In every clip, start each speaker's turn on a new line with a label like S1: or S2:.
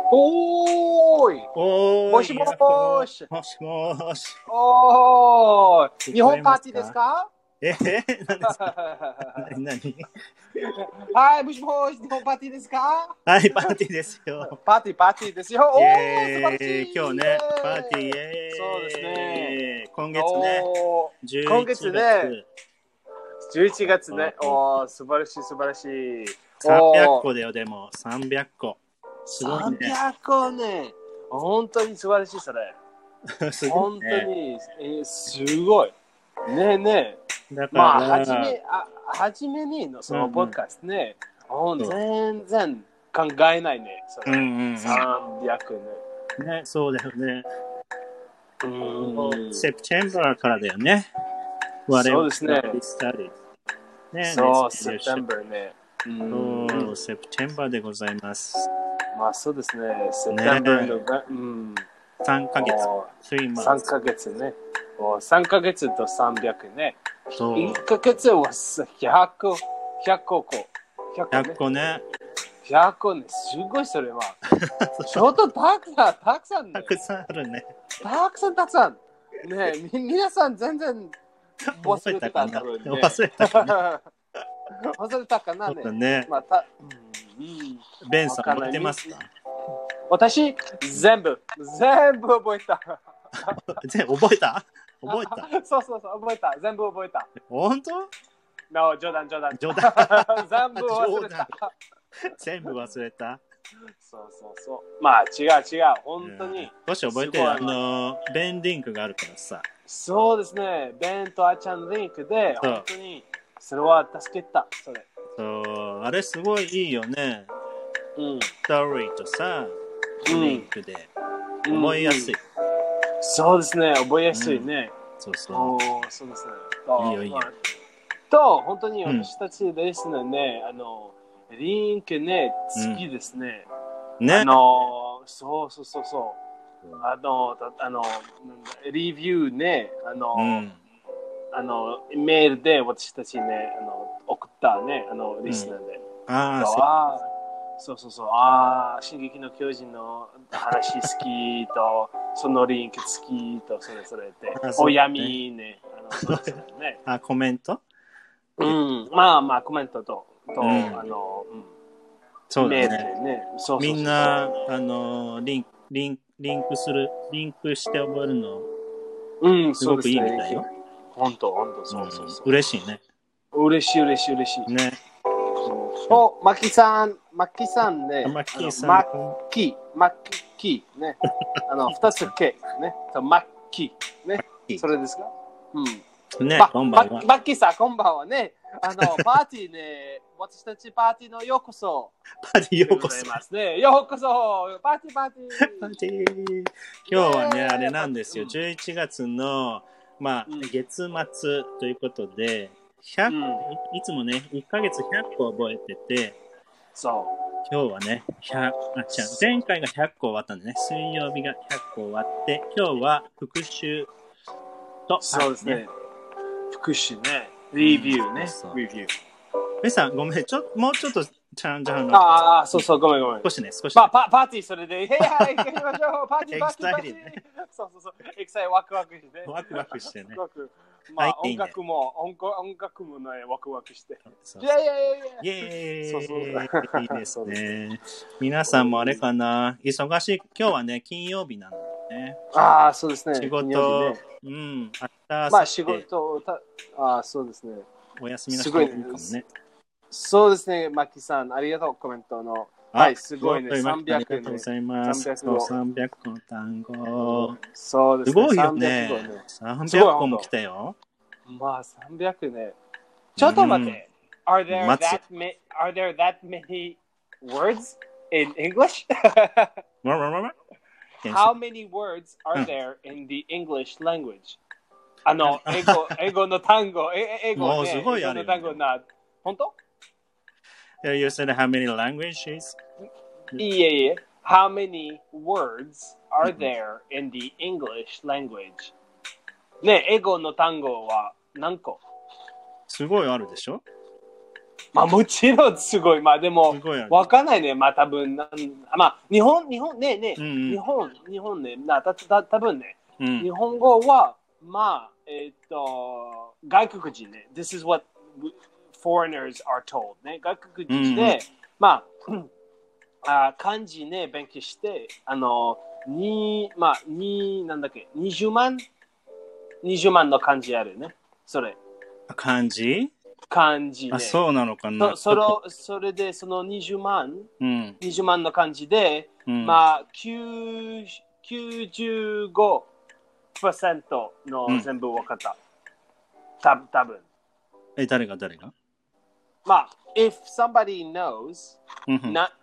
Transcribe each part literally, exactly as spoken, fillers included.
S1: おーい
S2: おーい
S1: もしもーし
S2: もしもーし
S1: おーい日本パーティーですか
S2: えー、何ですか何何
S1: はい、もしもーし、日本パーティーですか
S2: はいパーティーですよ
S1: パーティー、パーティーですよ。お
S2: イ
S1: ー、素晴ら
S2: エ
S1: しい。
S2: ーイ今日ねパーティーイエーイ
S1: そうですね。
S2: 今月ね
S1: おー
S2: 11
S1: 今
S2: 月
S1: 月ね、じゅういちがつね。おー、素晴らしい、素晴らしい。
S2: さんびゃく
S1: おー
S2: こだよでもさんびゃくこすごいね
S1: さんびゃくこね。本当に素晴らしい、それ。
S2: すごい
S1: 本当
S2: ね
S1: に、えーすごい。ねえねえ。
S2: だから
S1: まあ、はじめ、あ、はじめにのその
S2: うんうん
S1: ポッドキャストね、ほん
S2: そう
S1: 全然考えないね。それ
S2: うんうんうん
S1: さんびゃくね。
S2: ねそうだよね
S1: うーん。
S2: セプテンバーからだよね我々
S1: そうですね。
S2: スタディね
S1: そう、
S2: ね
S1: セプテンバーね。うーん。
S2: そうセプテンバーでございます
S1: まあ、そうですね。セプテンバーのが、うん。
S2: さんかげつ
S1: お
S2: さん
S1: さん
S2: months
S1: ヶ月ね。おさんかげつとさんびゃくね。
S2: そう
S1: いっかげつはひゃく、ひゃくこ。ひゃく
S2: ひゃ
S1: ね
S2: っこね
S1: ひゃっこね、すごいそれは。ちょっとたくさん、たくさんね。
S2: たくさんあるね
S1: たくさん、たくさん。ねえ、み、皆さん全然忘れてたんだろうね。
S2: 忘れたかな
S1: 忘れたかなね。
S2: そうだね
S1: まあ、た、うん、うん
S2: ベンさん覚えてますか
S1: 私、全部、全部覚えた。
S2: 全部覚えた覚えた
S1: そうそうそう、覚えた。全部覚えた。
S2: 本当
S1: No、冗談、冗談。
S2: 冗談
S1: 全部忘れた。
S2: 全部忘れた
S1: そうそうそう。まあ、違う違う。本当に。
S2: もし覚えて
S1: すごい
S2: あのベンリンクがあるからさ
S1: そうですね。ベンとあちゃんリンクで、
S2: そう
S1: 本当に、それは助けた。それ。
S2: そうあれすごいいいよね
S1: うん。
S2: ストーリーとさ
S1: うん
S2: リンクで覚えやすい、
S1: うんそうですね。覚えやすいね。
S2: そうそう
S1: おーそうですね。
S2: いいよいいよ
S1: まあと、本当に私たちですね、あの、リンクね、好きですね。
S2: ね
S1: あの、そうそうそうそう。あの、たあの、レビューね、あの、
S2: うん
S1: あの、メールで私たちね、あの、送ったね、あの、リスナーで。
S2: ああそう
S1: ああそうそうそう、ああ、進撃の巨人の話好きと、そのリンク好きと、それぞれで、
S2: あそうね
S1: お闇ね、あの、それぞれね。
S2: あコメント
S1: うん、まあまあ、コメントと、と、
S2: うん
S1: あの、うん、
S2: そうだ
S1: メール
S2: ね
S1: でね、そうそうそうそう
S2: みんなあのリンクリンクリンクするリンクして覚えるの
S1: うん、
S2: すごくいいみ
S1: そうですね
S2: たいよ。
S1: 本当、本当、そうそうそう。
S2: うん、嬉しいね。
S1: 嬉しい、嬉しい、嬉しい。
S2: ね。
S1: お、マキさん、マキさんね。
S2: マッキーさん
S1: マッキー、マッキーね。あの、二つ K ね。マッキーね。それですかうん。
S2: ね、
S1: ま
S2: こんばんは。
S1: マッキーさん、こんばんはね。あの、パーティーね、私たちパーティーのようこそ。
S2: パーティーようこそ
S1: でござい。ますね。ようこそ。パーティー、パーティー。
S2: パーティー。今日はね、
S1: イエーイ
S2: あれなんですよ。じゅういちがつの、まあ、
S1: うん
S2: 月末ということで、ひゃく、
S1: うん
S2: いいつもね、いっかげつひゃっこ覚えてて、
S1: そ
S2: 今日はね、ひゃく、あ、違う、前回がひゃっこ終わったんでね、水曜日がひゃっこ終わって、今日は復習と、
S1: う。そうですね。復習ね。レビューね。
S2: そうそう
S1: レビュー。
S2: メさん、ごめん、ちょ、もうちょっと、ちゃんじゃんの。
S1: ああ、そうそう、ごめんごめん。
S2: 少しね、少し、ね。
S1: まあ、パパーティーそれで、いやいや、行きましょう。パーティー、パーティー、パーティー。
S2: Exciting ね
S1: そうそうそう。エキサイワクワクして。
S2: ワクワクしてね
S1: すごくまあ、
S2: はいいいね
S1: 音楽も、音楽音楽もね、ワクワクして。
S2: そう
S1: いやいやいやいや。
S2: イエーイ
S1: そうそう
S2: いいです
S1: そうです
S2: ね。皆さんもあれかな、忙しい、今日はね、金曜日なのでね。
S1: ああ、そうですね。
S2: 仕事、
S1: 金曜日ね
S2: うん、明日、
S1: まあ、仕事、たああ、そうですね。
S2: お休みの人
S1: すごい
S2: もいるかもね。
S1: そうですね、マキさん、ありがとう、コメントの。はい、すごいね、さんびゃくね。
S2: ありがとうございます。
S1: さんびゃくご
S2: さんびゃっこの単語。
S1: そうですね。
S2: すごいよね。
S1: さんびゃくごね。
S2: さんびゃっこも来たよ。
S1: まあ、さんびゃくね。ちょっと待って。Are there
S2: 待つ
S1: that ma- are there that many words in English? How many words are there in the English language? あの、英語、英語の単語、え英語ね。
S2: もうすごいあるよね
S1: 英語の単語な、本当
S2: You said how many languages?
S1: いえいえ。How many words are there in the English language? ね、英語の単語は何個
S2: すごいあるでしょ
S1: まあもちろんすごい。まあでも
S2: すごいよね、
S1: わかんないね。まあ多分なん、まあ日本、日本ね、ね、
S2: うんうん
S1: 日本、日本ね、なたた多分ね、
S2: うん
S1: 日本語は、まあ、えっと、外国人ね。This is what foreigners are told ね。外国人で、
S2: うんうん
S1: まあ、あ漢字ね、勉強して、あの、に、まあ、に、なんだっけ、にじゅうまん ?にじゅう 万の漢字あるね。それ。
S2: 漢字
S1: 漢字ね。
S2: あ、そうなのかな。
S1: そそのそれでそのにじゅうまん、
S2: うん、
S1: にじゅうまんの漢字で、
S2: うん、
S1: まあきゅうきゅうじゅうごパーセント の全部分かった。た多分。
S2: え、誰が誰が
S1: まあ、if somebody knows
S2: うんうん
S1: not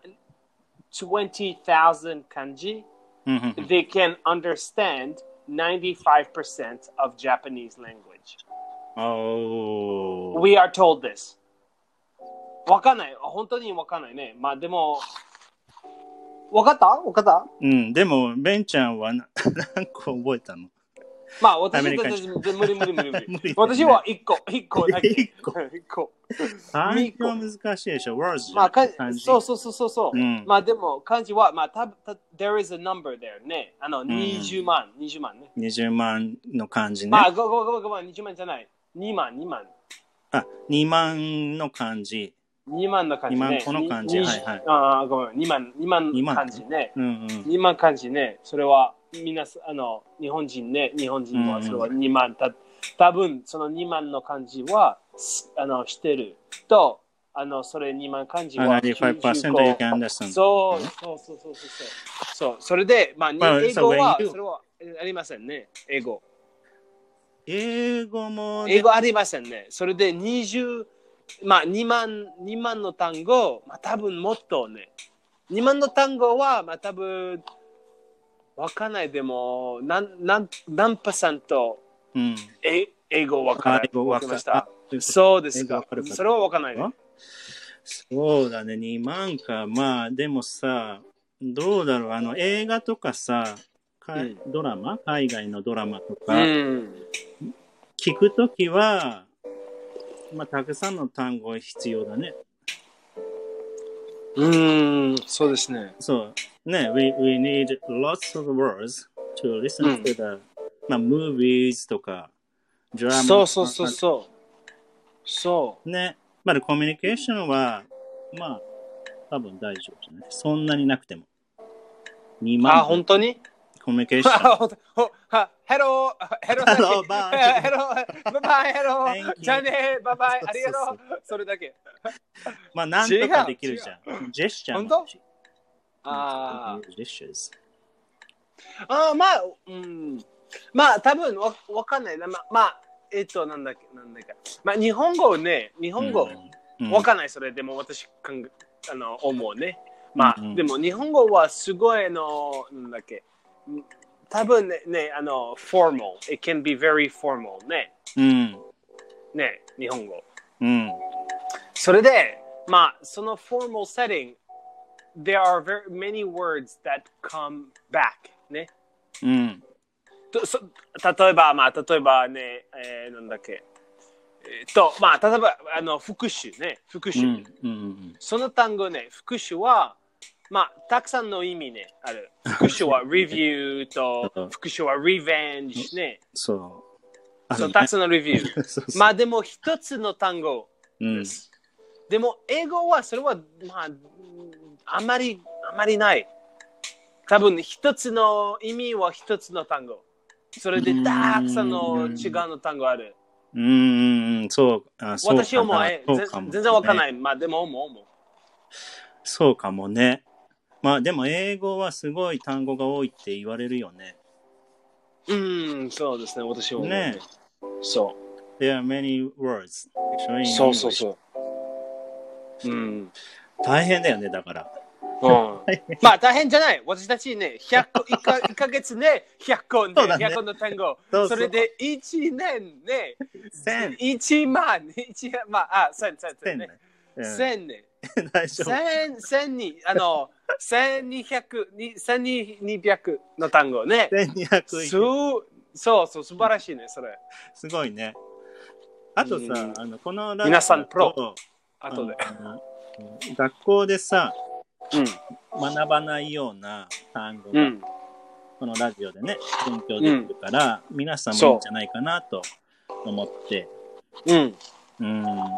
S1: twenty thousand 漢字、
S2: うんうん
S1: they can understand ninety-five percent of Japanese language.
S2: おー
S1: We are told this. わかんない。本当にわかんないね。まあでも、わかったわかった
S2: うん、でも、ベンちゃんはな何個覚えたの
S1: まあ私は
S2: アメリカ
S1: 全然無理無理無理無理。
S2: 無理だよね
S1: 私はいっこ、いっこだけ。
S2: 一個
S1: いっこ。
S2: 漢字は難しいでしょ ?words じゃ
S1: まあ、か
S2: 漢字。
S1: そうそうそうそうそう、
S2: うん
S1: まあでも漢字は、まあたた there is a number there ね。あの、
S2: ん
S1: にじゅうまん、にじゅうまんね。
S2: にじゅうまんの漢字ね。
S1: まあごごごごまん、にじゅうまんじゃない。にまん、にまん。
S2: あ、にまんの漢字。
S1: にまんの漢字ね。
S2: にまんこの漢字
S1: に
S2: はいはい
S1: ああ、ごめん、にまん、にまん
S2: にまん
S1: 漢字ね。
S2: うんうん。
S1: にまん漢字ね。それは、みなす、あの、日本人ね。日本人は、それはにまん。た多分そのにまんの漢字は、あの、知ってる。と、あの、それにまん漢字は。
S2: ninety-five percent you can understand.
S1: そう、そうそうそうそう。そう、それで、まあ、に
S2: Well,
S1: 英語
S2: so
S1: は、
S2: when you-
S1: それはありませんね。英語。
S2: 英語もね、
S1: 英語ありませんね。それでにじゅう、まあにまん、にまんの単語、まあ多分もっとね。にまんの単語は、まあ多分、わかんないでも、なん、なん、何パーセント、
S2: うん。
S1: え英語わから
S2: あ英語わか
S1: わかりました
S2: あ。
S1: そうですか
S2: 英語わかる。か
S1: それはわかんないね。
S2: そうだね、にまんか。まあ、でもさ、どうだろう、あの、映画とかさ、か
S1: うん
S2: ドラマ海外のドラマと
S1: う
S2: か、
S1: ん。
S2: 聞くときは、まあ、たくさんの単語必要だね。
S1: うん、そうですね。
S2: そう。ね、we, we need lots of words to listen to the、まあ、movies とか、ドラマ。
S1: そうそうそうそう。そう。
S2: ね。まだコミュニケーションは、まあ、多分大丈夫じゃない。そんなになくても。にまん。
S1: あ、本当に
S2: コミュニケーション。
S1: ヘロー、ヘロー、
S2: ヘローバイ
S1: ヘロー、バイバイ、ヘロ
S2: Thank you
S1: ー、じゃあね、バイバイ、ありが
S2: そう
S1: とう。それだけ。
S2: まあ、なんとかできるじゃん。ジェスチャーも
S1: 本当
S2: あるし。
S1: あ
S2: ジェスチャーズ。
S1: あ、まあ、うん。まあ、多分わわかんないな。ままあ、えっと、なんだっけ、なんだっけ。まあ、日本語ね、日本語、
S2: うん
S1: わかんない、それでも私考え、あの、思うね。まあ、
S2: うん
S1: でも日本語はすごいの、なんだっけ。多分ね、ね、あの、formal. It can be very formal ね。
S2: うん。
S1: ね、日本語。
S2: うん。
S1: それで、まあ、その formal setting, there are very many words that come back ね。
S2: うん。
S1: とそ例えば、まあ、例えばね、えー、なんだっけ。えー、と、まあ、例えば、あの、復習ね。復習。
S2: うん。うん。
S1: その単語ね、復習は、まあ、たくさんの意味ね、ある。復習は review と、復習は revenge ね。
S2: そう。
S1: そう、たくさんの review。
S2: そうそう
S1: まあ、でも一つの単語
S2: うん
S1: で。す。でも、英語は、それは、まあ、あまり、あまりない。多分、一つの意味は一つの単語。それで、たくさんの違うの単語ある。
S2: うーん、そう。あそうかな
S1: 私はもう、え
S2: そうかもね
S1: 全然わかんない。まあ、でも、思う、思う。
S2: そうかもね。まあでも英語はすごい単語が多いって言われるよね。
S1: うん、そうですね、私は思う。
S2: ね。
S1: そ
S2: There are many words.
S1: う。そうそうそう。うん。
S2: 大変だよね、だから。
S1: うん、まあ大変じゃない。私たちね、ひゃっこ、いっかげつね、ひゃっこね、
S2: そうだね
S1: ひゃっこの単語。
S2: そうそう
S1: それでいちねんね、
S2: 千
S1: いちまん、いちまん、あ、千、千、千ね。
S2: うん
S1: 千ね。
S2: 大丈夫。
S1: 千、千に、あの、千二百、千二百の単語ね。
S2: せんにひゃく
S1: そうそうそう、素晴らしいね、それ。
S2: すごいね。あとさ、
S1: うん
S2: あのこのラ
S1: 皆さんプロ後で。
S2: 学校でさ、
S1: うん、
S2: 学ばないような単語が、
S1: うん、
S2: このラジオでね、勉強できるから、うん、皆さんもいいんじゃないかなと思って。
S1: うん。
S2: うん。
S1: あ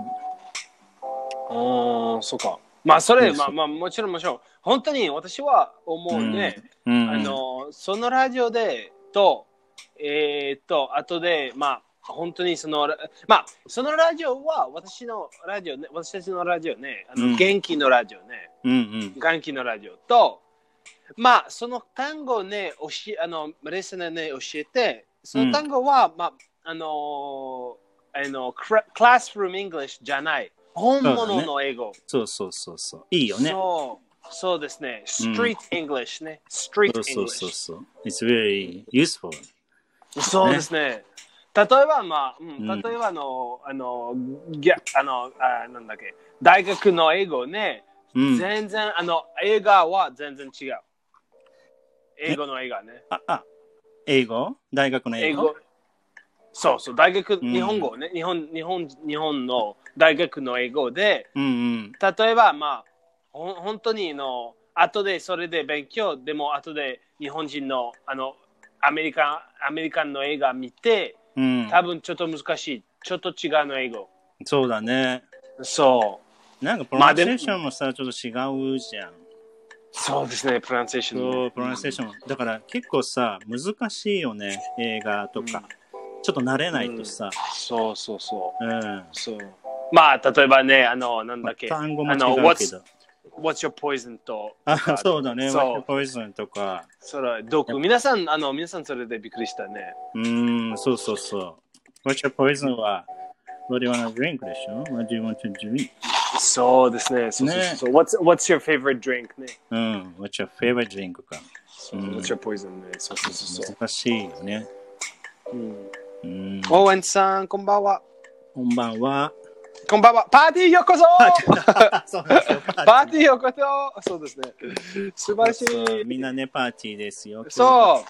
S1: あ、そうか。まあ、それ、まあ、まあ、もちろん、もちろん、本当に私は思うね。うん、あの、そのラジオで、と、えー、っと、後で、まあ、本当にその、まあ、そのラジオは、私のラジオね、私たちのラジオね、あの、うん、元気のラジオね。
S2: うんうん、
S1: 元気のラジオと、まあ、その単語をね、教え、あの、レッスンでね、教えて、その単語は、うん、まあ、あの、あの、クラスルームイングリッシュじゃない。本物の英語。
S2: そうそうそうそう。いいよね。
S1: そう、そうですね。Street English ね。Street English。
S2: そうそうそう。It's very useful.
S1: そうですね。例えば、まあ、うん、例えばあの、あの、ギャあのあ、なんだっけ、大学の英語ね、うん、全然、あの、映画は全然違う。英語の映画ね。
S2: あ、あ、英語大学の英語、英語
S1: そうそう、大学、うん、日本語ね、日本、日本、日本の大学の英語で、
S2: うんうん、
S1: 例えば、まあ、ほ本当にの、後でそれで勉強、でも後で日本人の、あの、アメリカン、アメリカンの映画見て、うん、多分ちょっと難しい。ちょっと違うの英語。
S2: そうだね。
S1: そう。
S2: なんかプロナンセーションもさ、まあ、ちょっと違うじゃん。
S1: そうですね、プロナンセーション、ね。
S2: そう、プロナンセーション。だから結構さ、難しいよね、映画とか。うん、ちょっと慣れないとさ。うん、
S1: そうそうそう。
S2: うん。
S1: そう。まあ、例えばね、あの、なんだっけ。
S2: 単語も違うけど。
S1: What's your poison と。
S2: あ、そうだね。What's your poison とか。
S1: それ、毒。皆さん、あの、皆さんそれでびっくりしたね。
S2: うーん、そうそうそう。What's your poison は、What do you want to drink でしょ ?What do you want to drink?
S1: そうですね。そうそうそう。ね、what's, what's your favorite drink ね。
S2: うん。What's your favorite drink か。
S1: そう、うん、What's your poison ね。そうそうそうそう。
S2: 難しいよね。
S1: うん。うん、オーエンさん、こんばんは。
S2: こんばんは。
S1: こんばんは。パーティーようこそパーティーようこそそうですね。素晴らしい。
S2: みんなね、パーティーですよ。
S1: そう。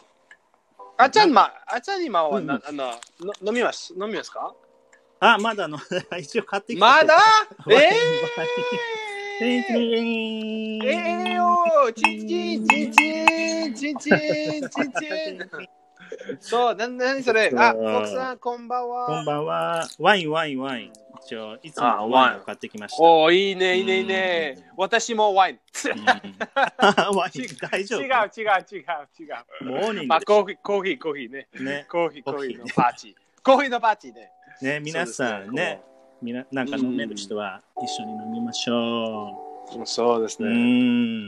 S1: あちゃん、ま、あちゃん今は、な、あの、飲みます、飲みますか？
S2: あ、まだの、一応買ってきて。
S1: まだえー
S2: え
S1: ー、えーよチンチン、チンチン、チンチン、チンチン。そう、な、なにそれ。あ、奥さん、こんばんは。
S2: こんばんは。ワイン、ワイン、ワイン。一応、いつもワインを買ってきました。
S1: おー、いいね、いいね、いいね。私もワイン。
S2: ワイン、大丈夫？
S1: 違う、違う、違う、違う。
S2: モーニング。
S1: まあ、コーヒー、コーヒー、コーヒーね。
S2: ね。
S1: コーヒー、コーヒーのパーティー。コーヒーのパーティーね。
S2: ね、皆さんね、みな、なんか飲める人は一緒に飲みましょ
S1: う。そうですね。
S2: うん。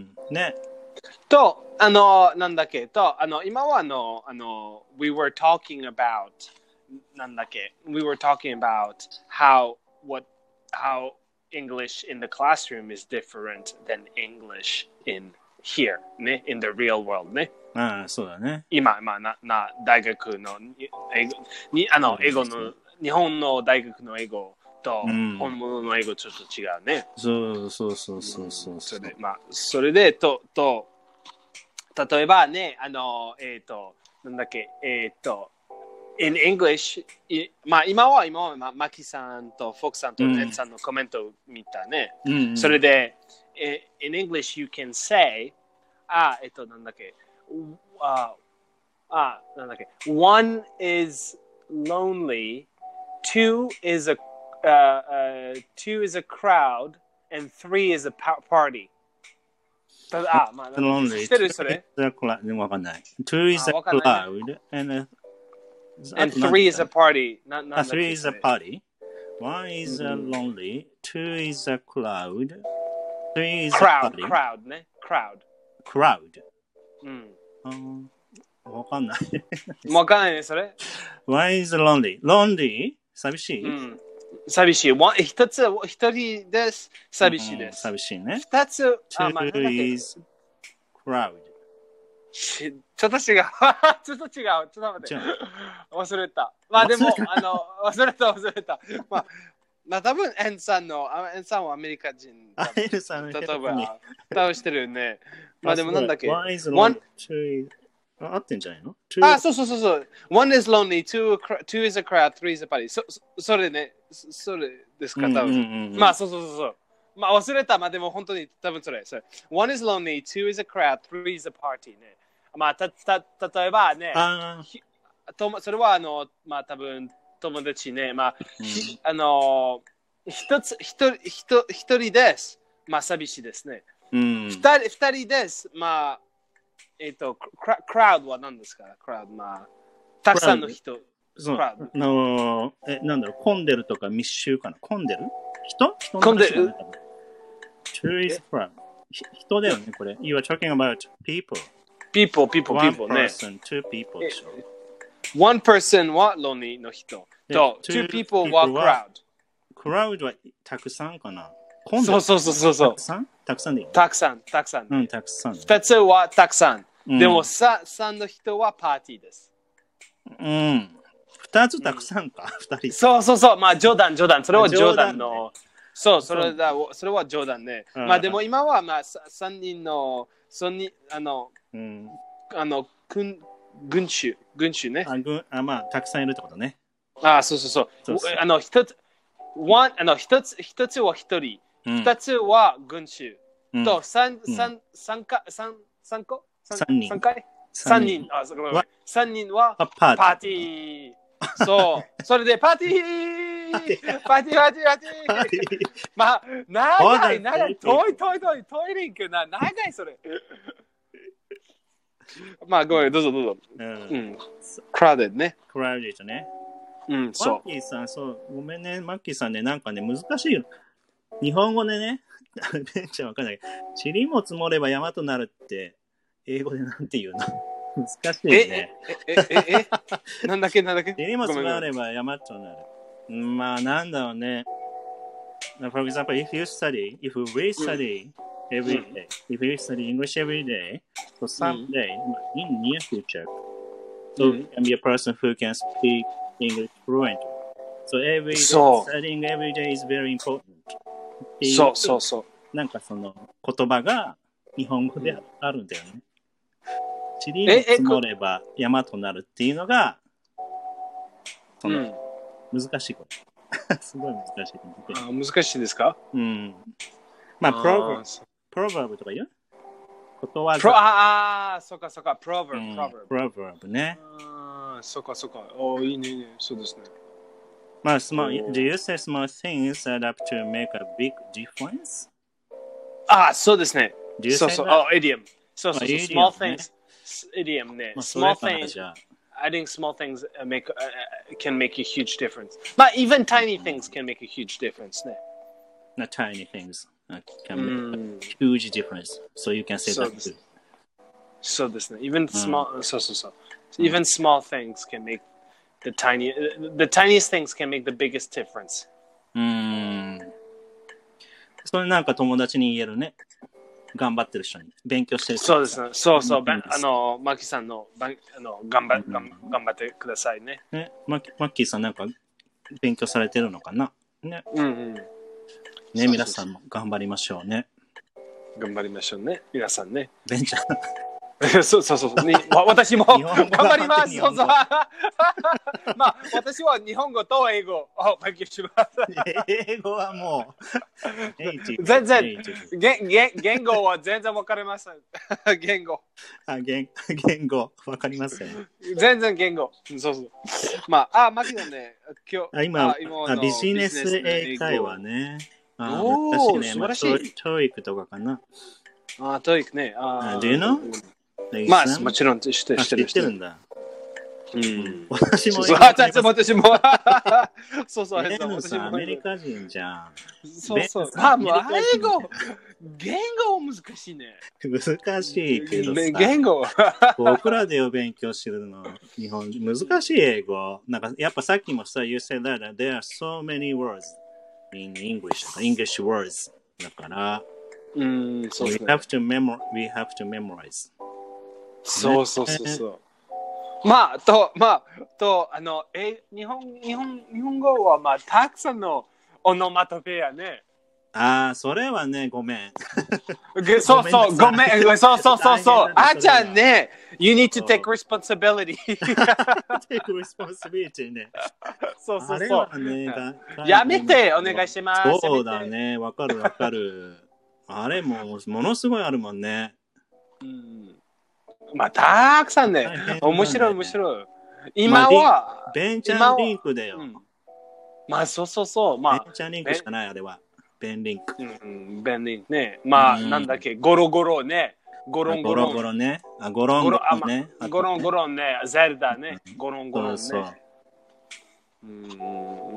S2: ね。
S1: と、あの、なんだっけ、と、あの、今はあの、あの、we were talking about、なんだっけ、we were talking about how, what, how English in the classroom is different than English in here, ね、in the real world ね。
S2: ああ、そうだね。
S1: 今、まあ、な、な、大学の、英語、に、あの、英語の、日本の大学の英語と、本物の英語ちょっと違うね。
S2: そうそうそうそうそう。
S1: それで、まあ、それで、と、と、例えばね、あの、えっと、なんだっけ、えっと、in English、まあ、今は、今は、まあ、マキさんとフォークさんとネッツさんのコメントを見たね。
S2: うんうん、
S1: それで、in English you can say、あ、えっと、なんだっけ、あ、あ、なんだっけ、one is lonely, two is a, uh, uh, two is a crowd, and three is a party. あ、まあ、知ってるそれ？
S2: わかんない。two is a cloud, and,
S1: and three is a party.
S2: ななんだっけ three is a party. One is a lonely, two is a cloud, three is a
S1: crowd,
S2: party.
S1: crowd ね。crowd.
S2: crowd.
S1: うん。
S2: わかんない。
S1: わかんないね、それ。
S2: One is lonely. lonely? 寂しい、
S1: うん、寂しい。一つ、一人です。寂しいです。
S2: 寂しいね。
S1: 二つ、
S2: あ、まあ、
S1: is
S2: crowd.
S1: ちょっと違う。ちょっと違う。ちょっと待って。忘れた。まあでも、あの、忘れた、忘れた。まあ、まあ多分、エンさんの、エンさんはアメリカ人。
S2: エンさん
S1: 例えば、倒してるよね。まあでもなんだっけ。
S2: One is lonely. Two is あ合ってんじゃないの？
S1: あ、そうそうそうそう。One is lonely, two, two is a crowd, three is a party. そ, それね、それですか、多分。うんうんうん、まあ、そうそうそうそう。まあ、忘れた。まあ、でも本当に多分それ。それ One is lonely, two is a crowd, three is a party ね。まあ、た、た、例えばね、
S2: あ
S1: とそれはあの、まあ、多分友達ね、まあ、うん、あの、一つ、一人、一人です。まあ、寂しいですね。うん、二人、二人です。まあ、えっ、ー、と、クラ、クラウドは何ですか？クラウド、まあ、たくさんの人。
S2: そう。あのー、え、なんだろう、混んでるとか密集かな？混んでる？人？人
S1: 混んでる。
S2: Tourist crowd。人だよね、これ。You are talking about people.
S1: People, people,
S2: One
S1: people ね。
S2: One person, two people でしょ。
S1: One person は lonely の人。と、two people は crowd。
S2: クラウドはたくさんかな？
S1: そうそうそうそう。
S2: たくさん？たくさんでいい？
S1: たくさん、たくさん。
S2: うん、たくさん。
S1: 二つはたくさん。うん、でも、さ、三の人はパーティーです。
S2: うん。二つたくさんか、二、うん、人。
S1: そうそうそう。まあ、冗談、冗談。それは冗談の。ね、そう、それだ、それは冗談ね。まあ、でも今は、まあ、三人の、三人、あの、うん、あの、群、群衆、群衆ね。
S2: あ、群、あ、まあ、たくさんいるってことね。
S1: ああ、そうそうそう。そうそうあの、一つ、one、あの、一つ、一つは一人。二、うん、つは群衆。うん、と、三、三、三か、三、三個
S2: 三人。
S1: 三回三人。あ、そこ三人はパーティー。そう。それでパーティーパーティーパーティーパーティーまあ、長い、長い。遠い、遠い、遠い。トイレ行くな。長い、それ。まあ、ごめん、どうぞ、どうぞ。うん。クラウデッドね。
S2: クラウデッドね。
S1: うん、そう。
S2: マッキーさん、そう。ごめんね、マッキーさんね、なんかね、難しいよ。日本語でね、ベンちゃんわかんないけど、塵も積もれば山となるって、英語でなんて言うの難しいよね。
S1: え、え、え、え、なんだっけ、なんだっけ。
S2: 塵も積もれば山となる。まあ、なんだろうね。For example, if you study, if we study every day, if you study English every day, so someday, in near future, so you can be a person who can speak English fluently. So every day, studying every day is very important.
S1: そうそうそう。
S2: なんかその言葉が日本語であるんだよね。塵も積もれば山となるっていうのが、その難しいこと。すごい難しいこと。
S1: あ、難しいですか？
S2: うん。まあ、プロバーブ、プロバーブとか言う？ことわざ。
S1: プロ、ああ、そうかそうか、プロバーブ、
S2: プロバーブね。
S1: ああ、そうかそうか。お、いいね、いいね、そうですね。
S2: まあ、small, do you say small things add up to make a big difference?
S1: あ、そうですね。
S2: Do you
S1: そうそう、あ、idiom。そうそうそう、small things。idiom ね。small things. Adding small things make, uh, can make a huge difference. But even tiny things can make a huge difference ね。
S2: Not tiny things can make a huge difference. So you can say that too.
S1: そうですね。Even small, そうそうそう。Even small things can make The tiny, the tiniest things can make the biggest difference.
S2: うーん。それなんか友達に言えるね。頑張ってる人に。勉強してる人。
S1: そうですね。そうそう。あの、マキさんの、あの頑張、うん、頑張ってくださいね。
S2: ね、マキ、マッキーさんなんか勉強されてるのかなね。
S1: うんうん。ね、
S2: 皆さんも頑張りましょうね。
S1: 頑張りましょうね。皆さんね。
S2: ベンちゃん。
S1: そうそうそう。に私も頑張ります。そうそう。まあ、私は日本語と英語を勉強します。
S2: 英語はも
S1: う、全然、言言語は全然わかりません。言語。
S2: あ、言言語、わかりません。
S1: 全然言語。そうそう。まあ、あ、マキドね、今日、
S2: あ今、あビジネス英会話ね。あおー、ね、素晴らしい。トーイックとかかな。
S1: あ、トーイックね。あ、
S2: Do you know?
S1: まあ、もちろん知ってる。
S2: 知ってるんだ。
S1: うん。
S2: 私も。
S1: 私も。そうそう。
S2: 私もアメリカ人じゃん。
S1: そうそう。まあ、もう、英語。言語難しいね。
S2: 難しいけどさ。
S1: 言語。
S2: 僕らでを勉強してるの。日本人。難しい英語。なんか、やっぱさっきもさ、You said that there are so many words in English. English words. だから、
S1: うん、そうですね。
S2: We have to memorize. We have to memorize.
S1: そうそうそうそう。まあ、と、まあ、と、あの、え、日本、日本、日本語は、まあ、たくさんのオノマトペやね。
S2: ああ、それはね、ごめん。
S1: そうそう、ごめん。そうそうそうそう。あーちゃんね、You need to take responsibility.
S2: take responsibility ね。
S1: そうそうそう。
S2: あれはね、
S1: やめて、お願いします。
S2: そうだね、わかるわかる。あれも、ものすごいあるもんね。
S1: うん、まあ、たくさんね。ね面白い面白い。今は、
S2: まあ、ベンチャーリンクだよ。うん、
S1: まあ、そうそうそう。まあ、
S2: ベンチャーリンクしかない、あれは。ベンリンク。
S1: うん、ベンリンクね。まあ、うん、なんだっけ、ゴロゴロね。ゴロンゴロン。
S2: ゴロゴロね。あ、ゴロンゴロンね。
S1: ゴロンゴロンね。ゼルダね。ゴロンゴロンね。
S2: そうそう。
S1: うん、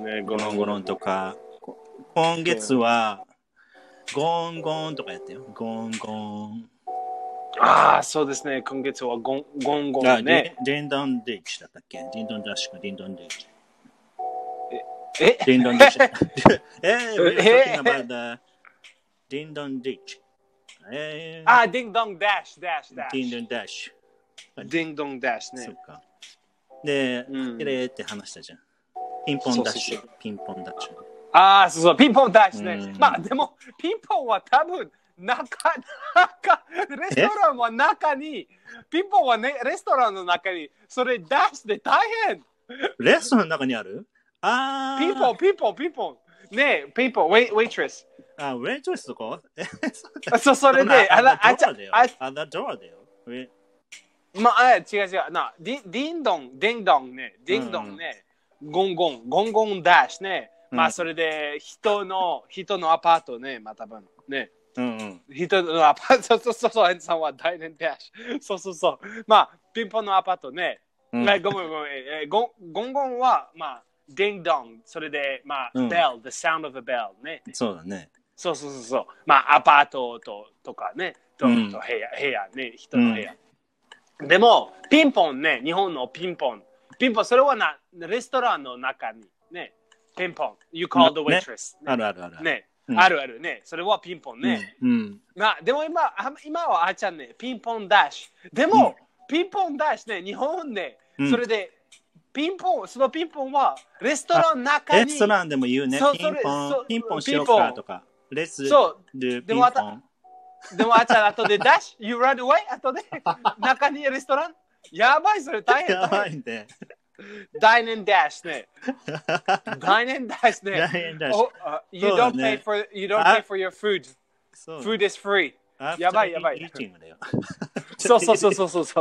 S1: ね、
S2: ゴロンゴロンとか。今月は、ゴンゴンとかやったよ。ゴンゴン。
S1: ああ、そうですね。今月はゴンゴンゴンね。
S2: ディンドンディッチだったっけ？ディンドンダッシュかディンドンディッチ。
S1: え
S2: ディンドンディッチ。えー、we're talking about the ディンドンディッチ。
S1: えー、あ、ディンドンダッシュ、ダッシュ、ダッシュ。
S2: ディンドンダッシ
S1: ュ。ディンドンダッシュね。
S2: そうか。で、キレーって話したじゃん。ピンポンダッシュ。ピンポンダッシュ。
S1: ああ、そうそう、ピンポンダッシュね。まあ、でも、ピンポンは多分、中、中、レストランは中に、ピンポンはね、レストランの中に、それダッシュで大変。
S2: レストランの中にある？ああ。
S1: ピンポン、ピンポン、ピンポン。ねえ、ピンポン、ウェイ、ウェイトレス。
S2: あ、ウェイトレスとか
S1: そう、それで、
S2: あら、あちゃ、あら、ドアだよ。
S1: まあ、違う違う。な、ディディンドン、ディンドンね、ディンドンね、ゴンゴン、ゴンゴンダッシュね。まあ、それで、人の、人のアパートね、まあ、多分ね。
S2: うんうん、
S1: 人のアパート、そうそうそう、エンさんはダイネンダッシュ。そうそうそう。まあ、ピンポンのアパートね。うん、ごめんごめん、えー、ゴン。ゴンゴンは、まあ、ディンドン。それで、まあ、うん、ベル、the sound of a bell ね。
S2: そうだね。
S1: そうそうそうそう。まあ、アパートととかね。と、うん、と部屋、部屋ね。人の部屋。うん、でも、ピンポンね。日本のピンポン。ピンポン、それはな、レストランの中にね。ピンポン。You call the waitress、
S2: ねね。あるあるある。
S1: ね。うん、あるあるね。それはピンポンね。
S2: うん。うん、
S1: まあ、でも今、今はあーちゃんね、ピンポンダッシュ。でも、うん、ピンポンダッシュね、日本ね、うん、それで、ピンポン、そのピンポンは、レストランの中に。
S2: レストランでも言うね。ピンポン、ピンポンしようかとか。レス
S1: そう。
S2: で
S1: も、でもあーちゃん、後でダッシュ、You run away? 後で、中にレストランやばい、それ大変。
S2: やばいね。
S1: ダイネンダッシュね。ダイネンダッシュね。
S2: ダイネンダッシュ。
S1: You don't pay for, you don't pay for your food. Food is free. やばいやばい。そうそうそうそうそうそう。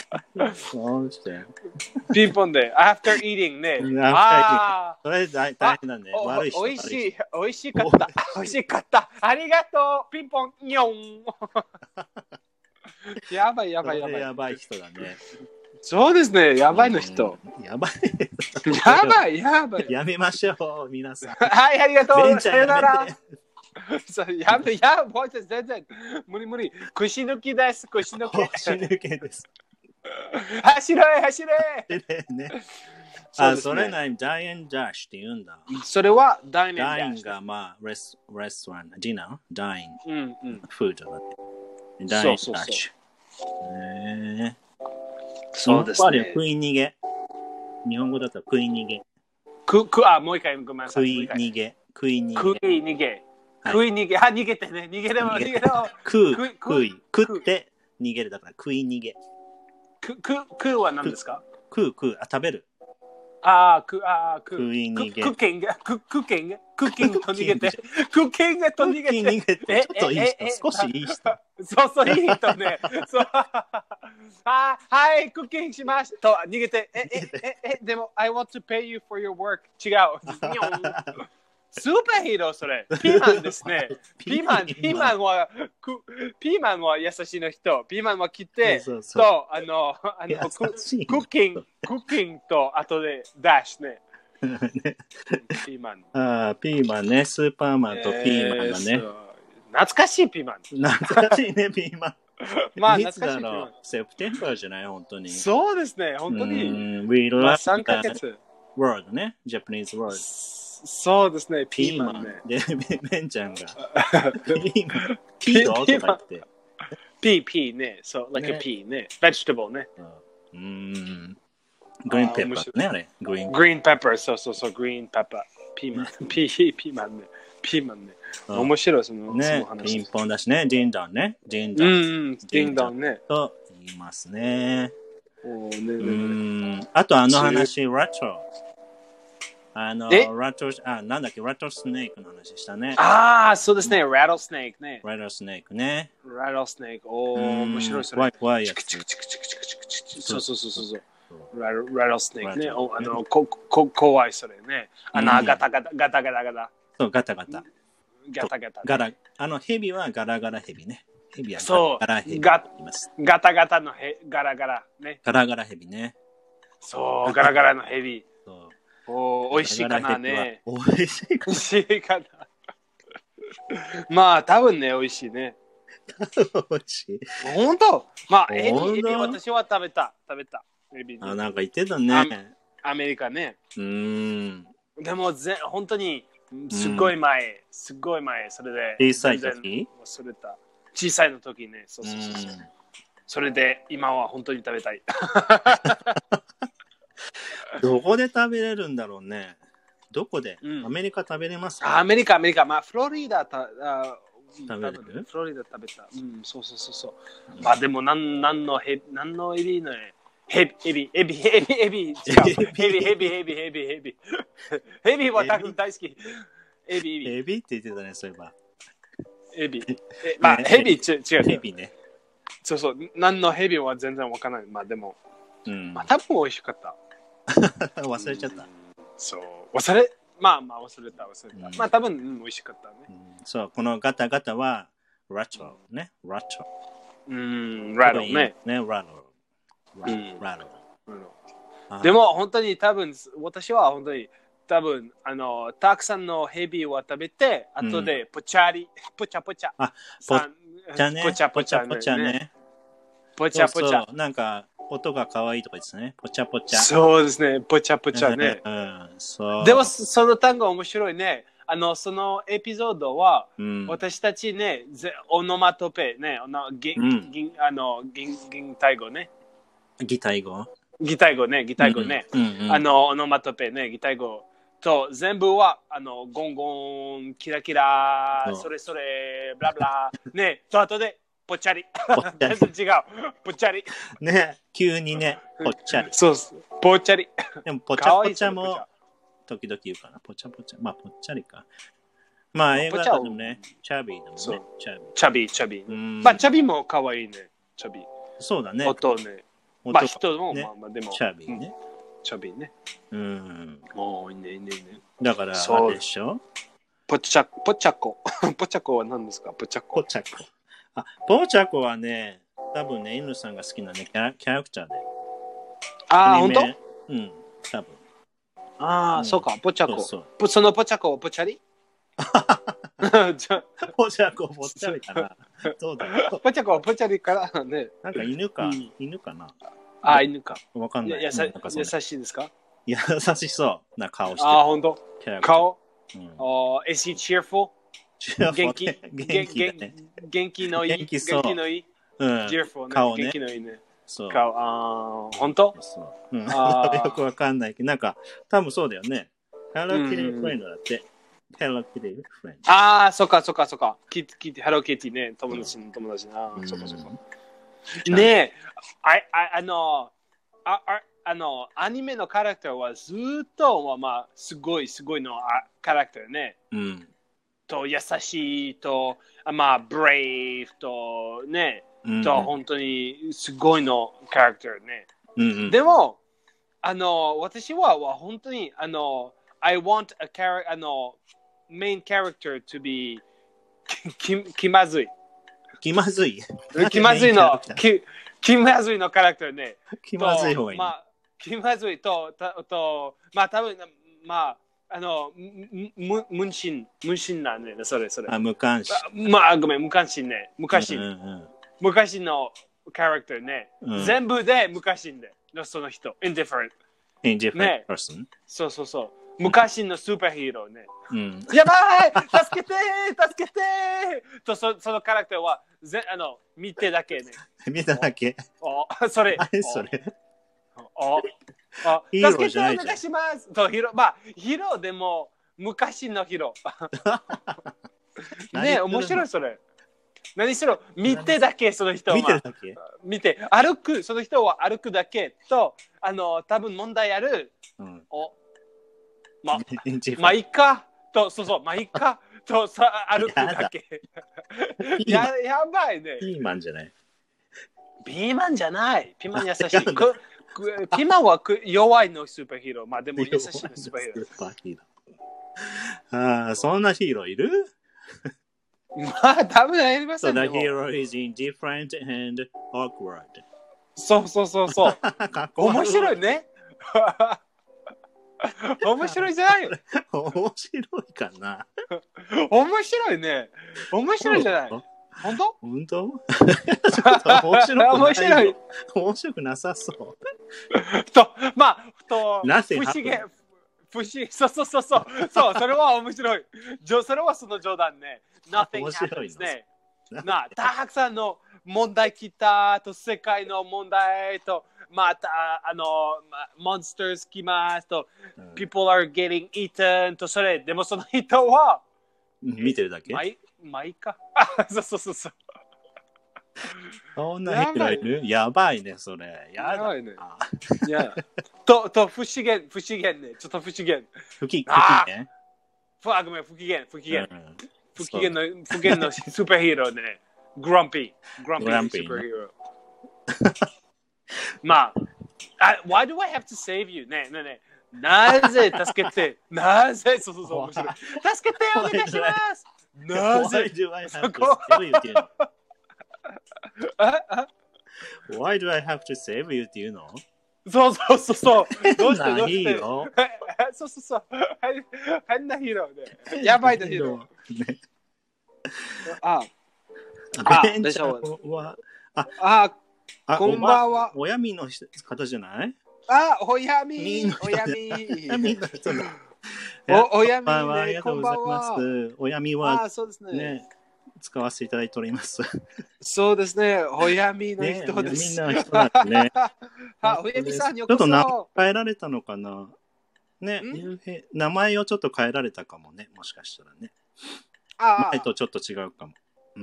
S1: ピンポンで、after eating ね。
S2: ああ。それ大変なんで。悪い人。
S1: おいしい、おいしかった。おいしかった。ありがとう。ピンポン、にょん。やばいやばいやばい。
S2: やばい人だね。
S1: そうですね、やばいの人。
S2: やばい。
S1: やばい、やばい。
S2: やめましょう、皆さん。
S1: はい、ありがとう。さよなら。やめ、やばい、全然。無理無理。串抜きです、串抜き。
S2: 串抜きです。
S1: 走れ、走れ。
S2: ね。あ、それなに、ダイエンダッシュって言うんだ。
S1: それはダイエンダッシュ。
S2: ダインが、まあ、レスレストラン、ディナー、ダイン、
S1: うんうん、
S2: フードだって。ダイエンダッシュ。そうそうそうえー
S1: そうですね。
S2: 食い逃げ。日本語だと食い逃げ。
S1: く、く、あ、もう一回ごめんなさい。
S2: 食い逃げ。食い逃げ。
S1: 食い逃げ。食い逃げ。あ、逃げてね。逃げれば逃げれば。
S2: 食う。食い。食って逃げるだから食い逃げ。
S1: く、く、食うは何ですか？
S2: 食う、食う。あ、食べる。
S1: ああ、く、ああ、
S2: 食い逃げ。
S1: クッキング、クッキング、クッキングと逃げて。クッキングと逃げて。
S2: 逃げて。ちょっといい人。少しいい人。
S1: そうそう、いい人ね。そう。あ、はい、クッキングしますと逃げて。え、え、え、え、でも、I want to pay you for your work. 違う。スーパーヒーロー、それ。ピーマンですね。ピーマン、ピーマンは、ピーマンは優しいの人。ピーマンは切って、
S2: そうそう
S1: と、あの、あのクッキング、クッキングと、後でダッシュね。ピーマン。
S2: ああ、ピーマンね。スーパーマンとピーマンがね。
S1: 懐かしいピーマン。
S2: 懐かしいね、ピーマン。
S1: まあ、懐かしいピーマン。
S2: セプテンバーじゃない、本当に。
S1: そうですね、本当に。
S2: We love
S1: さんかげつ。
S2: word ね、Japanese word。
S1: そうですね、ピーマンね。
S2: で、ベンちゃんが。ピーマン。ピーとか言って。
S1: ピー、ピーね。そう、like a pea ね。vegetable ね。
S2: うん。グリーンペッパーね、あれ。
S1: グリーンペッパー、そうそうそう、グリーンペッパー。ピーマン。ピー、ピーマンね。 ピーマンね。面白い、その、
S2: ね、
S1: その話。
S2: ピンポンだしね、ディンドンね。ディンドン。
S1: うん、うん、ディンドンね。
S2: と言いますね。
S1: おーねねね
S2: うん。あとあの話、ラト。あの、ラト、あ、なんだっけ、ラトスネークの話したね。
S1: ああ、そうですね、ラトスネークね。
S2: ラトスネークね。
S1: ラトスネーク、おー、面白いそれ。
S2: 怖い怖いやつ。
S1: チクチクチクチクチクチクチクそうそうそうそう。ララトスネークね。おあのここ怖いそれね。あの、ガタガタガタガタガタ。
S2: そう、ガタガタ。
S1: ガタガタ。
S2: ガラ、あの、ヘビはガラガラヘビね。ヘビは
S1: ガラヘビ。ガタガタのヘガラガラね。
S2: ガラガラヘビね。
S1: そう、ガラガラのヘビ。おおいしいかなね。
S2: おいしいかな。
S1: おいしいかな。まあ、多分ね、おいしいね。
S2: おいしい。
S1: 本当まあ、エビ、エビ私は食べた。食べた。エビ。
S2: あ、なんか言ってたね。
S1: アメリカね。
S2: うん。
S1: でもぜ、本当に、すごい前、すごい前、それで。
S2: 小さい時
S1: 忘れた。小さいの時ね。そうそうそうそう。それで、今は本当に食べたい。
S2: どこで食べれるんだろうね。どこで、うん、アメリカ食べれますか？
S1: アメリカ、アメリカ。まあ、フロリダたあ
S2: 食べれる？
S1: フロリダ食べた。うん、そうそうそうそう。うん、まあ、でも、なん、なんのヘビ、なんのエビのヘビ、エビ、エビ、エビ、エビ、違う。ヘビ、ヘビ、ヘビ、ヘビ、ヘビ。ヘビは多分大好き。エビ、エビ。
S2: エビって言ってたね、そういえば。
S1: エビ。まあ、ヘビ、違う。
S2: ヘビね。
S1: そうそう。なんのヘビは全然わからない。まあ、でも、
S2: うん、
S1: まあ、多分美味しかった。
S2: 忘れちゃった。
S1: そう。忘れ、まあまあ忘れた、忘れた。うん、まあ多分、うん、美味しかったね、
S2: うん。そう、このガタガタは、ラトね。ラト。
S1: うん、ラトね。
S2: ね、ラト。ラト。
S1: でも本当に多分、私は本当に多分、あの、たくさんのヘビを食べて、後でポチャリ、ポチャポチャ。
S2: あ、ポチャね。
S1: ポチャポチャ
S2: ポチャね。
S1: ポチャポチャ。
S2: なんか、音が可愛いとかですね。ポチャポチャ。
S1: そうですね。ポチャポチャね。
S2: うん、そう。
S1: でも、その単語面白いね。あの、そのエピソードは、
S2: うん、
S1: 私たちね、オノマトペね、あの、ぎ、うん、ぎあの、ぎ、ぎタイ語ね。
S2: 擬態語
S1: 擬態語ね、擬態語ね。
S2: うんうんうん、
S1: あの、オノマトペね、擬態語。と、全部は、あの、ゴンゴン、キラキラ、それそれ、ブラブラ、ね、と後で、ぽっちゃり。全然違う。ぽっちゃり。
S2: ね、急にね、ぽっちゃり。
S1: そうそう。ぽっちゃり。
S2: でも、ぽちゃぽちゃも時々言うかな。ぽちゃぽちゃ。まあ、ぽっちゃりか。まあ、映画だとね、チャビーだもんね。
S1: チャビー。チャビー、チャビー。まあ、チャビーも可愛いね。チャビー。
S2: そうだね。
S1: 音ね。まあ、人も、まあまあ、でも。
S2: チャビーね。
S1: チャビーね。
S2: うん。
S1: おー、いいね、いいね、いいね。
S2: だから、あれでしょ？
S1: ぽちゃ、ぽちゃこ。ぽちゃこは何ですか？ぽちゃこ。
S2: ぽちゃこ。あ、ポーチャコはね、多分ね、犬さんが好きなね、キャラキャラクターで。
S1: ああ、ほんと？
S2: うん、多分。
S1: ああ、うん、そうか、ポチャコ。
S2: そう
S1: そうそのポチャコはポチャリ
S2: ポチャコ、ポチャリかな。どうだろう。
S1: ポチャコはポチャリからね。
S2: なんか犬か、うん、犬かな。
S1: ああ、犬か。
S2: わかんない。
S1: やさ優しいですか？
S2: 優しそうな顔してる。
S1: ああ、ほんと？顔、
S2: うん、
S1: oh, is he cheerful? 元気
S2: 元気だね。
S1: 元気のいい。
S2: 元気そう。
S1: 元気のいい。
S2: うん、
S1: cheerful ね。
S2: 顔ね。
S1: 元気のいいね。
S2: そう。
S1: 顔、ああ、ほんと？
S2: そう。うん、よくわかんないけど、なんか、多分そうだよね。Hello Kitty Friend だって。Hello Kitty Friend。
S1: ああ、そっかそっかそっか。キティ、Hello Kitty ね。友達の友達な。そっかそっか。ねえ、あ、あ、あの、あ、あ、あの、アニメのキャラクターはずっと、まあ、すごい、すごいのキャラクターね。
S2: うん。
S1: と、優しいと、まあ、ブレイブと、ね、うん、と、本当にすごいのキャラクターね。
S2: うんうん、
S1: でも、あの、私は、は本当に、あの、I want a character, あの、main character to be き、きまずい。
S2: 気まずい
S1: 気まずいの、き、気まずいのキャラクターね。
S2: 気まずい方がいい。
S1: まあ、気まずいと、と、とまあ、多分、まあ、あの、む、無心、無心なんね、それ、それ。
S2: あ、無関心。
S1: まあ、ごめん、無関心ね。無関心。
S2: うんうん、
S1: 昔のキャラクターね。うん、全部で無関心で、その人。indifferent。
S2: indifferent、
S1: ね、
S2: person。
S1: そうそうそう。昔のスーパーヒーローね。
S2: うん、
S1: やばい助けて助けてとそ、そのキャラクターは、ぜあの、見てだけね。
S2: 見てだけ
S1: おそれ。
S2: 何それ
S1: おあ
S2: ヒーローじゃないじゃん。
S1: 助けてお願いしますとヒーロー、まあ、ヒーローでも、 昔のヒーロー。ね、面白いそれ。何しろ、見てだけ、その人は。
S2: 見てるだけ
S1: 見て、歩く、その人は歩くだけと、あの、多分問題ある。うん、おま、まあ、いいかと、そうそう、まあ、いいかとさ、歩くだけ。や, やばいね。
S2: ピーマンじゃない。
S1: ピーマンじゃない。ピーマン優しい。ピーマンは弱いのスーパーヒーロー。まあでも優しいのスーパーヒーロー。スーパーヒーロ
S2: ー。ああ、そんなヒーローいる？
S1: まあ多分やりませんね。
S2: So the hero is indifferent and awkward.
S1: そうそうそうそう。面白いね。面白いじゃないよ。
S2: 面白いかな。
S1: 面白いね。面白いじゃない。本当？
S2: 本当？面白くない。
S1: 面白い。
S2: 面白くなさそう。
S1: と、まあ、と、
S2: なぜ
S1: 不思議、不思議、そうそうそうそう、そう、それは面白い。それはその冗談ね。Nothing happens ね。な、たくさんの問題来たと、世界の問題と、また、あの、monsters 来ますと、うん、people are getting eaten と、それ、でもその人は、
S2: 見てるだけ
S1: まあいまあいいか。そうそうそうそう。
S2: そんな人いる？やばいね、それ。や
S1: ばいね。いや。と、と、不思議、不思議ね。ちょっと不思議。
S2: 不機嫌？
S1: あ、ごめん、不機嫌、不機嫌。不機嫌の、不機嫌のスーパーヒーローね。グランピー。グランピーのスーパーヒーロー。まあ、why do I have to save you? ねえねえねえ。なぜ助けて、なぜ、そうそうそう、面白い。助けてお願いします。なぜ
S2: Why do I have to save you っていうの Why do I have to save you っていうの
S1: そうそうそうそう。どうして
S2: どうしてそう
S1: そうそう。変なヒーローで。やばいなヒーロー。あ、
S2: あ、ベンチャーは、あ、
S1: あ、こんばんは。
S2: おやみの方じゃない？
S1: あ、おやみ。おやみ。お、おやみ、ね、
S2: ありがとうございます。おやみは、
S1: あ、そうですね。
S2: ね、使わせていただいております。
S1: そうですね。おやみの人です。
S2: ね、みんな人なんですね。
S1: あ、おやみさんよこそ。
S2: ちょっと名前変えられたのかな。ね、名前をちょっと変えられたかもね。もしかしたらね。
S1: あ
S2: 前とちょっと違うかも。うん。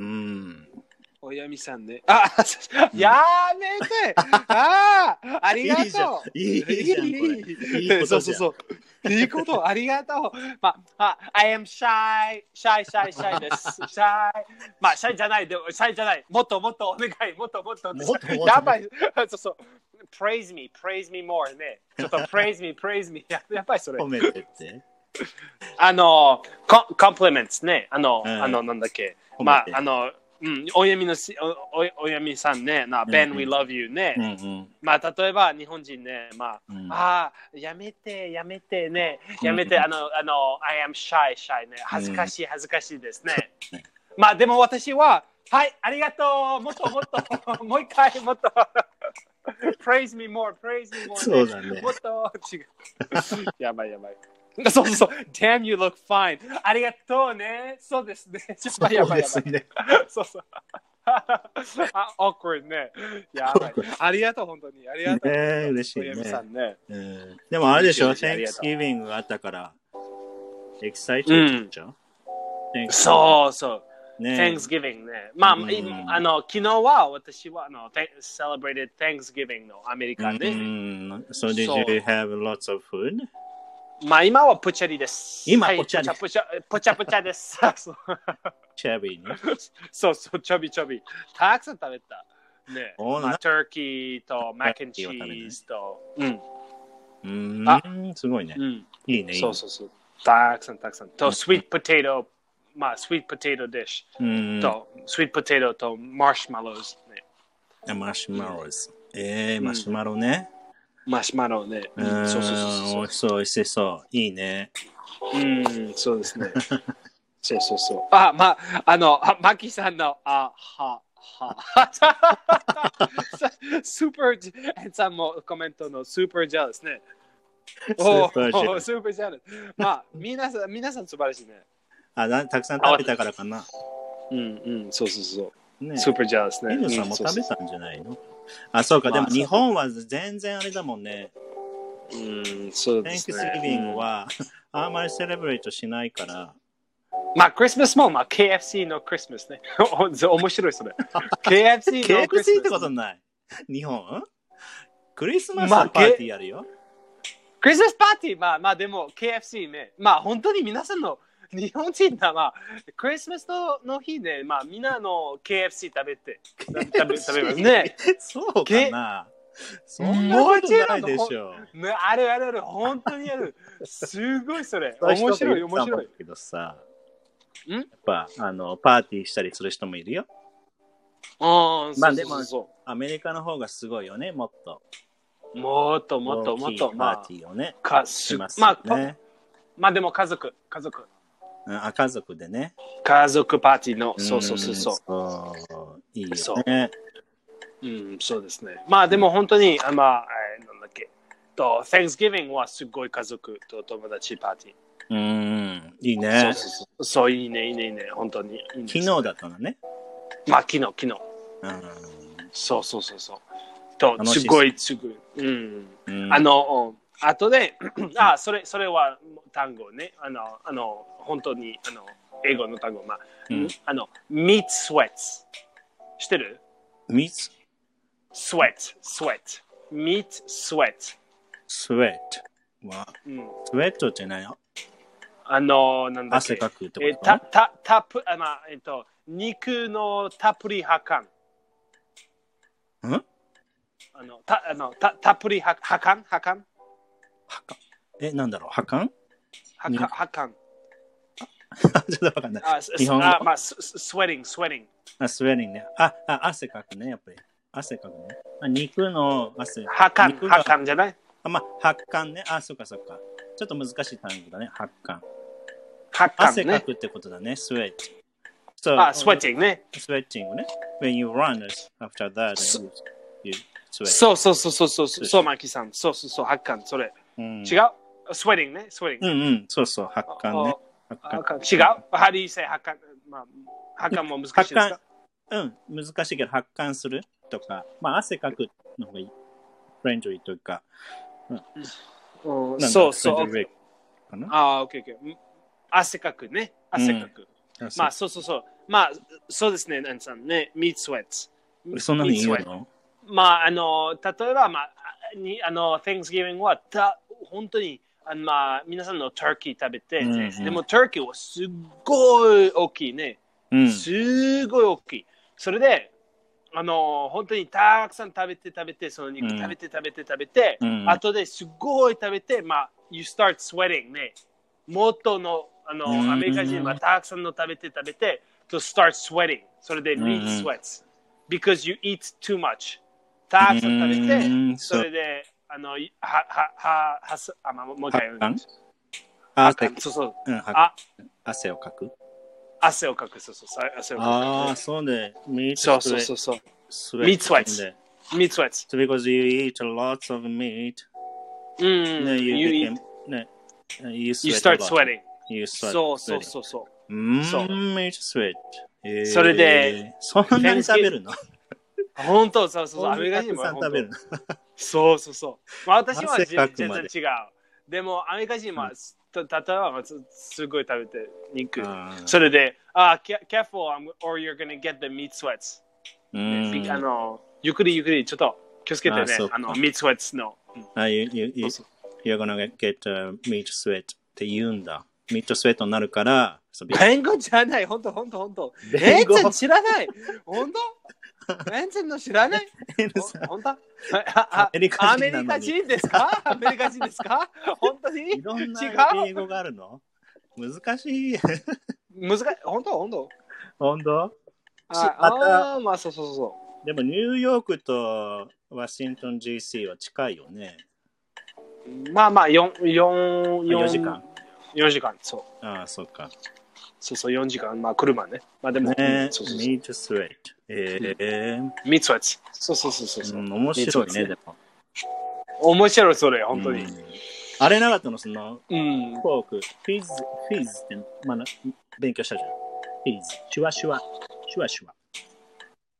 S1: おやみさんね。あ、やめて。ああ、ありがとう。
S2: いいじゃん。いいじゃん。
S1: そうそうそう。いいこと、ありがとう。まあ、I am shy, shy, shy, shy です。shy。まあ、シャイじゃない、でも、シャイじゃない。もっともっとお願い、もっともっと。やばい。そうそう。praise me, praise me more ね。ちょっと praise me, praise me。やばい、それ。
S2: 褒めてって。
S1: あの、compliments ね。あの、あの、なんだっけ。まあ、あの、うん、おやみのしおおおやみさんね、な、Ben, we love you ね。
S2: うんうん、
S1: まあ、例えば日本人ね、まあ、うん、ああ、やめて、やめてね、やめて、うん、あの、あの、I am shy, shy ね、恥ずかしい、恥ずかしいですね。うん、まあ、でも私は、はい、ありがとう、もっともっと、もう一回、もっと、praise me more, praise me more、ね。
S2: そうだね。
S1: もっと、違う。やばいやばい。そうそうそう。Damn, you look fine. ありがとうね。そうですね。
S2: そうですね。
S1: そうそう。あ、awkward ね。やばい。ありがとう、本当に。ありがとう。
S2: ね、嬉しいね。
S1: ね
S2: うん、でもあれでしょ、Thanksgiving があったから、エキサイティブでしょ、
S1: うん、そうそう。
S2: ね、
S1: Thanksgiving ね。まあ、うん、あの、昨日は私はあの celebrated Thanksgiving のアメリカで。
S2: うん。So did you have lots of food?
S1: まあ今はポチャリです。
S2: 今ポチャリ。
S1: ポチャポチャポチャです。
S2: チャビーね。
S1: そうそう、チャビチャビ。たくさん食べた。ね。まあ、ターキーとマックンチーズと。うん。
S2: うん。あ、すごいね。
S1: うん。
S2: いいね。
S1: そうそうそう。たくさんたくさん。と、スイートポテト、まあ、スイートポテトディッシュ。と、スイートポテトとマシュマロズね。
S2: マシュマロズ。えー、マシュマロね。
S1: マシュマロね。
S2: うん、そうそうそう。美味しそう、美味しそう。いいね。
S1: うん、そうですね。そうそうそう。あ、まあ、あの、マキさんの、あ、は、は。スーパー、さんもコメントのスーパージャーですね。
S2: スーパージャー。
S1: スーパージャー。まあ、皆さん、皆さん素晴らしいね。
S2: あ、たくさん食べたからかな。
S1: うんうん、そうそうそう。ね、スーパージャーですね。
S2: エヌさんも食べたんじゃないの？あ、そうか、でも日本は全然あれだもんね。
S1: うん、そうですね。
S2: Thanksgiving は、あんまりセレブレートしないから。
S1: まあ、クリスマスも、まあ、ケーエフシー のクリスマスね。面白いそれ。ケーエフシー のクリスマス。
S2: ケーエフシー ってことない。日本クリスマスのパーティーやるよ。まあ、
S1: クリスマスパーティー、まあまあでも ケーエフシー ね。まあ本当に皆さんの日本人は、まあ、クリスマスの日ね、まあみんなの ケーエフシー 食べて、食べ食べますね。
S2: そうかな。そんなことないでしょ。
S1: ね、あるあるある、本当にある。すごいそれ。面白い、面白い。
S2: けどさ、
S1: ん
S2: やっぱあのパーティーしたりする人もいるよ。
S1: ああ、
S2: まあでもアメリカの方がすごいよね、もっと。
S1: もっともっともっと、
S2: まあ、パーティーをね、
S1: かします、ね。まあ、まあでも家族、家族。
S2: うん、あ、家族でね。
S1: 家族パーティーの、そうそうそうそう。
S2: そういいよね。
S1: うん、そうですね。まあでも本当に、あまあ、えー、なんだっけ。と、Thanksgiving はすごい家族と友達パーティー。
S2: うん、いいね。
S1: そうそうそう。そう、いいね、いいね、いいね。本当にいい、ね。
S2: 昨日だったのね。
S1: まあ昨日、昨日。
S2: うん、
S1: そうそうそうそう。と、すごい、すごい。うん。うん、あの、あとで、あ、それ、それは単語ね。あの、あの、本当に、あの、英語の単語。まあ、うん、あの、meat sweats。知ってる
S2: ?meat
S1: sweat, sweat, meat sweat.
S2: sweat は、うん、sweat って何？
S1: あの、なんだっけ。
S2: 汗かくってこと？
S1: え、た、た、たっぷ、あ、まあ、えっと、肉のたっぷりはかん。
S2: ん？
S1: あの、た、あの、た、たっぷりは、はかんはかん
S2: はかん。え、なんだろうはかん
S1: はかん。はかん。
S2: ちょっとわかんない。あ、
S1: 日本語あ、まあ、スウェディング、スウェディング。
S2: あ、スウェディングね。あ、あ、汗かくね、やっぱり。汗かくね。あ、肉の汗。
S1: はかん、はかんじゃない？
S2: あ、まあ、発汗ね。あ、そっかそっか。ちょっと難しい単語だね。発汗。
S1: 発汗、
S2: ね。汗かくってことだね。スウェット。
S1: So, あ、スウェッティングね。
S2: スウェッティングね。When you run after that, you, you sweat.
S1: そうそうそうそうそう、そう、マキさん。そうそうそう、発汗、それ。うん、違う？スウェディングね。スウェディング。
S2: うんうん、そうそう、発汗ね。
S1: 違う？ハリーセ発汗、まあ、発汗も難しいですか？
S2: うん、難しいけど発汗するとか、まあ汗かくの方がいい。フレンドリーというか。
S1: うん、そうそう。ああ、オッケーオッケー。汗かくね。汗かく。うん、まあそうそうそう。まあそうですね、ナンさんね。meat sweats。
S2: そんなに言うの？
S1: まああの、例えば、まあ、にあの、Thanksgiving はた本当にあのまあ、皆さんのターキー食べて、うんうん、でもターキーはすっごい大きいね。うん、すごい大きい。それで、あの、本当にたくさん食べて食べて、その肉食べて食べて食べて、うん、後ですっごい食べて、まあ、you start sweating ね。元の、あの、うん、アメリカ人はたくさんの食べて食べて、to start sweating。それで meat sweats。because you eat too much。たくさん食べて、うん、それで、あの、は、は、は、は、あ、まあ、もう一回言うんです。
S2: 汗、
S1: そうそう。
S2: うん、あ、汗をかく
S1: 汗をかく、そうそうそう。汗をかく。
S2: ああ、そうね。
S1: そうそうそうそう。meat sweats。meat sweats。
S2: So because you eat lots of meat,
S1: うん、
S2: ね、you,
S1: you
S2: became,
S1: eat,
S2: ね、you,
S1: you start sweating.
S2: You start
S1: そうそうそうそう。
S2: うん、meat sweat。
S1: えー、それで、
S2: そんなに食べるの？
S1: 本当、そうそうそう。アメリカ人も
S2: 食べるの。
S1: そうそうそう。まあ、私は全然違う。でも、アメリカ人は、例えば、すごい食べて、肉。それで、あ、careful or you're gonna get the meat sweats。あの、ゆっくりゆっくり、ちょっと気をつけてね。あの、meat sweats の。
S2: あ、you, you, you, you're gonna get、uh, meat sweat って言うんだ。ミッドスウェットになるから、
S1: 弁護じゃない、ほんとほんとほんと。弁護知らない。ほんとベンチの知らない本当アメリカ人ですかアメリカ人ですか本当に
S2: いろんな英語があるの難しい。
S1: 難しい。本当本当
S2: 本当
S1: ああ、まあそうそうそう。
S2: でもニューヨークとワシントン ジーシー は近いよね。
S1: まあまあよん、よん、
S2: よじかん。
S1: よじかん、そう。
S2: ああ、そうか。
S1: そうそう、よじかん。まあ車ね。まあでも、
S2: ね、そうそうそうミートスウェット。ええー。
S1: ミートスウェット。そうそうそうそう。
S2: うん、面白いね、でも。
S1: 面白い、それ、本当に。うん、
S2: あれなかったのその、
S1: うん、
S2: フォーク。フィズ、フィズって、まあ、勉強したじゃん。フィズ。シュワシュワ。シュワシュワ。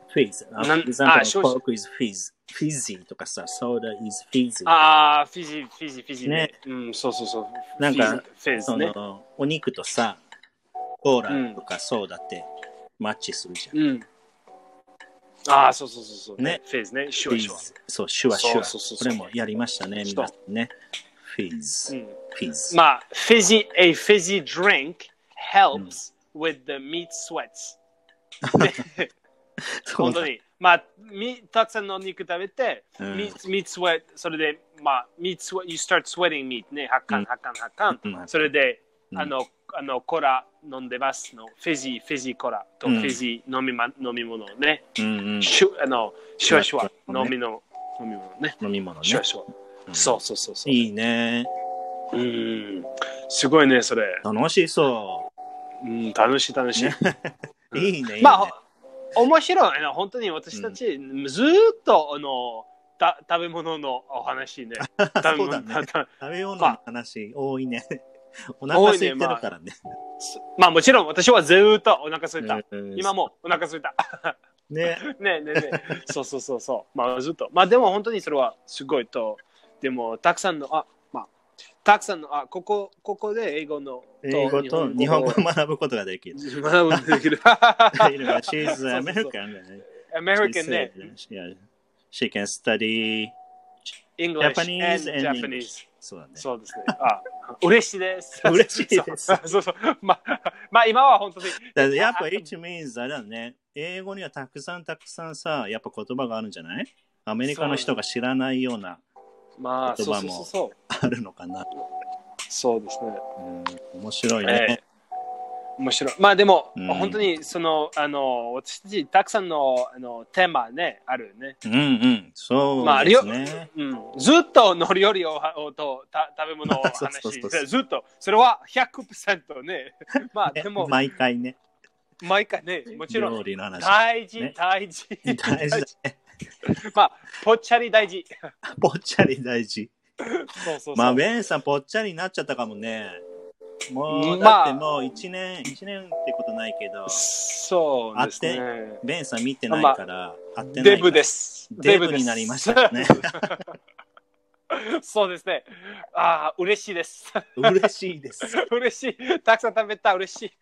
S2: fizz. Uh,
S1: なん
S2: for example,
S1: あ、少々
S2: Coke is fizz. Fizzy とかさ、soda is fizzy.
S1: ああ、フィジー、フィジー、フィジーね。
S2: ね
S1: うん、そうそうそう。
S2: なんか、
S1: フィジーフェ
S2: そ
S1: ズね。
S2: の、お肉とさ、コーラとかソーダってマッチするじゃん。
S1: うん。ああ、そうそうそうそう。
S2: ね。
S1: フェズね。シュワシュワ。
S2: そう、シュワシュワ。
S1: そうそうそうそう
S2: これもやりましたね、皆さんね。fizz.
S1: うん
S2: fizz.
S1: まあ、fizzy, a fizzy drink helps with the meat sweats. ね本当に。まあ、みたくさんのお肉食べて、
S2: うん
S1: meat, meat sweat、それで、まあ、meat sweat, you start sweating meat ね、発汗、発汗、発汗。
S2: うん
S1: それで、
S2: うん
S1: あの、あの、コーラ飲んでますの。フィジー、フィジーコーラとフ
S2: うん
S1: ィジー飲み,、ま、飲み物ね。
S2: うんうん、
S1: シュあのシュワシュワ、
S2: ね
S1: 飲みの飲み物ね。
S2: 飲み物ね。
S1: シュワシュワ。
S2: うん
S1: そうそうそうそう。
S2: いいね。
S1: うん。すごいね、それ。
S2: 楽しそ
S1: うん、楽しい楽しい。
S2: ねう。いいね、いいね。
S1: まあ、面白いな。本当に私たち、ずーっとあのた食べ物のお話ね。食べ
S2: そうだね。
S1: 物た
S2: 食べ物の
S1: まあ
S2: 話、多いね。お腹空いてるからね。
S1: まあもちろん私はずーっとお腹空いた。
S2: うん
S1: 今もお腹空いた。
S2: ね。
S1: ねえねえねえ。そうそうそうそう。まあずっと。まあでも本当にそれはすごいと。でもたくさんの、あ、まあ、たくさんの、あ、ここ、ここで英語の
S2: 英語と日本語を学ぶことができる。
S1: 学ぶことができる。
S2: She's American.
S1: American ね。
S2: Yeah. She can study
S1: English
S2: Japanese
S1: and
S2: and
S1: Japanese.
S2: English. そうだね。
S1: そうですね。あ、嬉しいです。
S2: 嬉しいです
S1: そうそうそう。まあ、まあ今は本当に。
S2: だからやっぱ it means あれだね。英語にはたくさんたくさんさ、やっぱ言葉があるんじゃない？アメリカの人が知らないような
S1: まあ、
S2: 言葉も
S1: そうそうそう
S2: あるのかな。
S1: そうですね。
S2: うん、面白いね。
S1: えー面白い。まあでも、
S2: うん
S1: 本当にその、あの、私たちたくさんのあのテーマね、あるね。
S2: うんうん、そう
S1: まあ、
S2: ですね。
S1: うん、ずっとの料理ををとた食べ物を話
S2: そうそうそうそう
S1: ずっと、それはひゃくパーセントね。まあでも、
S2: 毎回ね。
S1: 毎回ね、もちろん
S2: 料理の話。
S1: 大事、
S2: ね
S1: 大事。
S2: 大事だね。
S1: まあ、ぽっちゃり大事。
S2: ぽっちゃり大事。
S1: そうそうそう。
S2: まあ、ベンさんぽっちゃりになっちゃったかもね。もう、
S1: まあ
S2: だってもう一年、一年ってことないけど、
S1: そうですね。
S2: ベンさん見てないから、会ってないから。
S1: デブです。
S2: デブになりましたね。
S1: そうですね。ああ、嬉しいです。
S2: 嬉しいです。
S1: 嬉しい。たくさん食べた、嬉しい。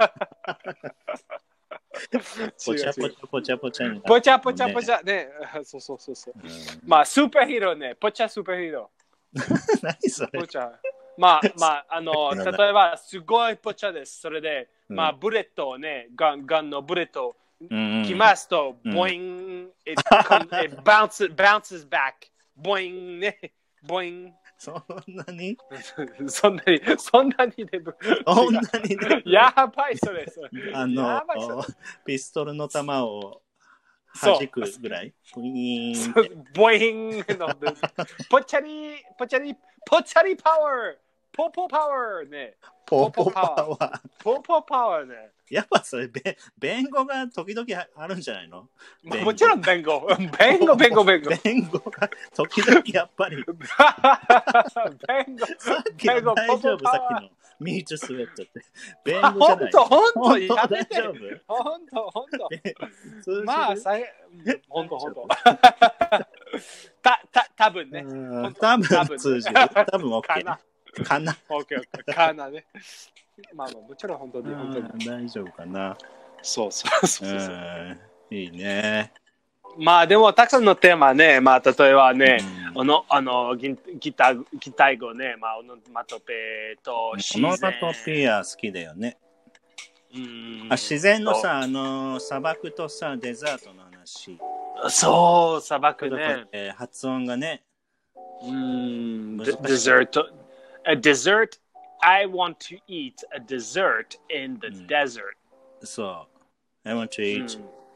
S2: ぽちゃぽちゃぽちゃぽちゃになって、
S1: ぽちゃぽちゃぽちゃね。そうそうそうそう。まあ、スーパーヒーローね。ぽちゃスーパーヒーロ
S2: ー。何それ？
S1: ぽちゃ。まあまあ、あの、例えば、すごいぽちゃです。それで、まあ、ブレットをね、ガン、ガンのブレット来ますと、ボイン、it bounces, bounces back. ボインね。ボイン。
S2: そんなに
S1: そんなに、そんなにデブ。
S2: そんなにデブ。
S1: やばい、それ。それ
S2: あの、ピストルの弾を弾くぐらい。ボイーン。
S1: ボインの、ぽちゃり、ぽちゃり、ぽちゃりパワー。ポポパワーね。
S2: ポポパワー。
S1: ポポパワーね。
S2: やっぱそれ、べ弁護が時々あるんじゃないの？
S1: もちろん弁護。弁護、弁護、弁護。
S2: 弁護が時々やっぱり。
S1: 弁護。
S2: さっきの大丈夫、さっきのミートスウェットって。弁護じゃない。
S1: ほんと、ほんと、
S2: 大
S1: やめて。
S2: 丈夫？
S1: ほんと、ほんと。
S2: 通じる
S1: まあ、さい、ほんと、ほんと。た、た、たぶんね。
S2: 多分通じる。多分 OK。かな。
S1: オッケーオッケー。かなね。まあまあもちろん本当に本当に
S2: 大丈夫かな。
S1: そうそうそうそう。
S2: いいね。
S1: まあでもたくさんのテーマね、まあ例えばね、あのあのギギターギター語ね、まあオノマトペと自然。オノマト
S2: ペア好きだよね。うんあ自然のさ、あの砂漠とさデザートの話。
S1: そう砂漠ね。
S2: えー、発音がね。
S1: うん。デザート。A dessert. I want to eat a dessert in the desert.
S2: So, I want to eat.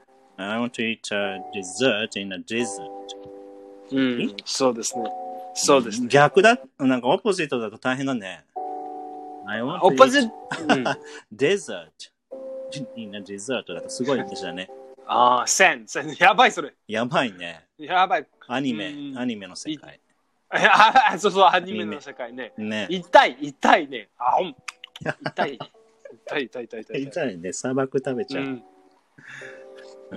S2: I want to eat a dessert in a desert.
S1: うん、そうですね。そうですね。
S2: 逆だ、なんかオポジットだと大変だね。I want to eat a desert in a desert だとすごい話だね。
S1: ああ、せん、せん、やばいそれ。
S2: やばいね。
S1: やばい。
S2: アニメ、アニメの世界。
S1: あそうそう、アニメの世界ね。
S2: ね
S1: 痛い、痛いね。あ、ほん。痛い。痛い、痛い、痛い、痛い。
S2: 痛いね。砂漠食べちゃう。
S1: うん、 うん、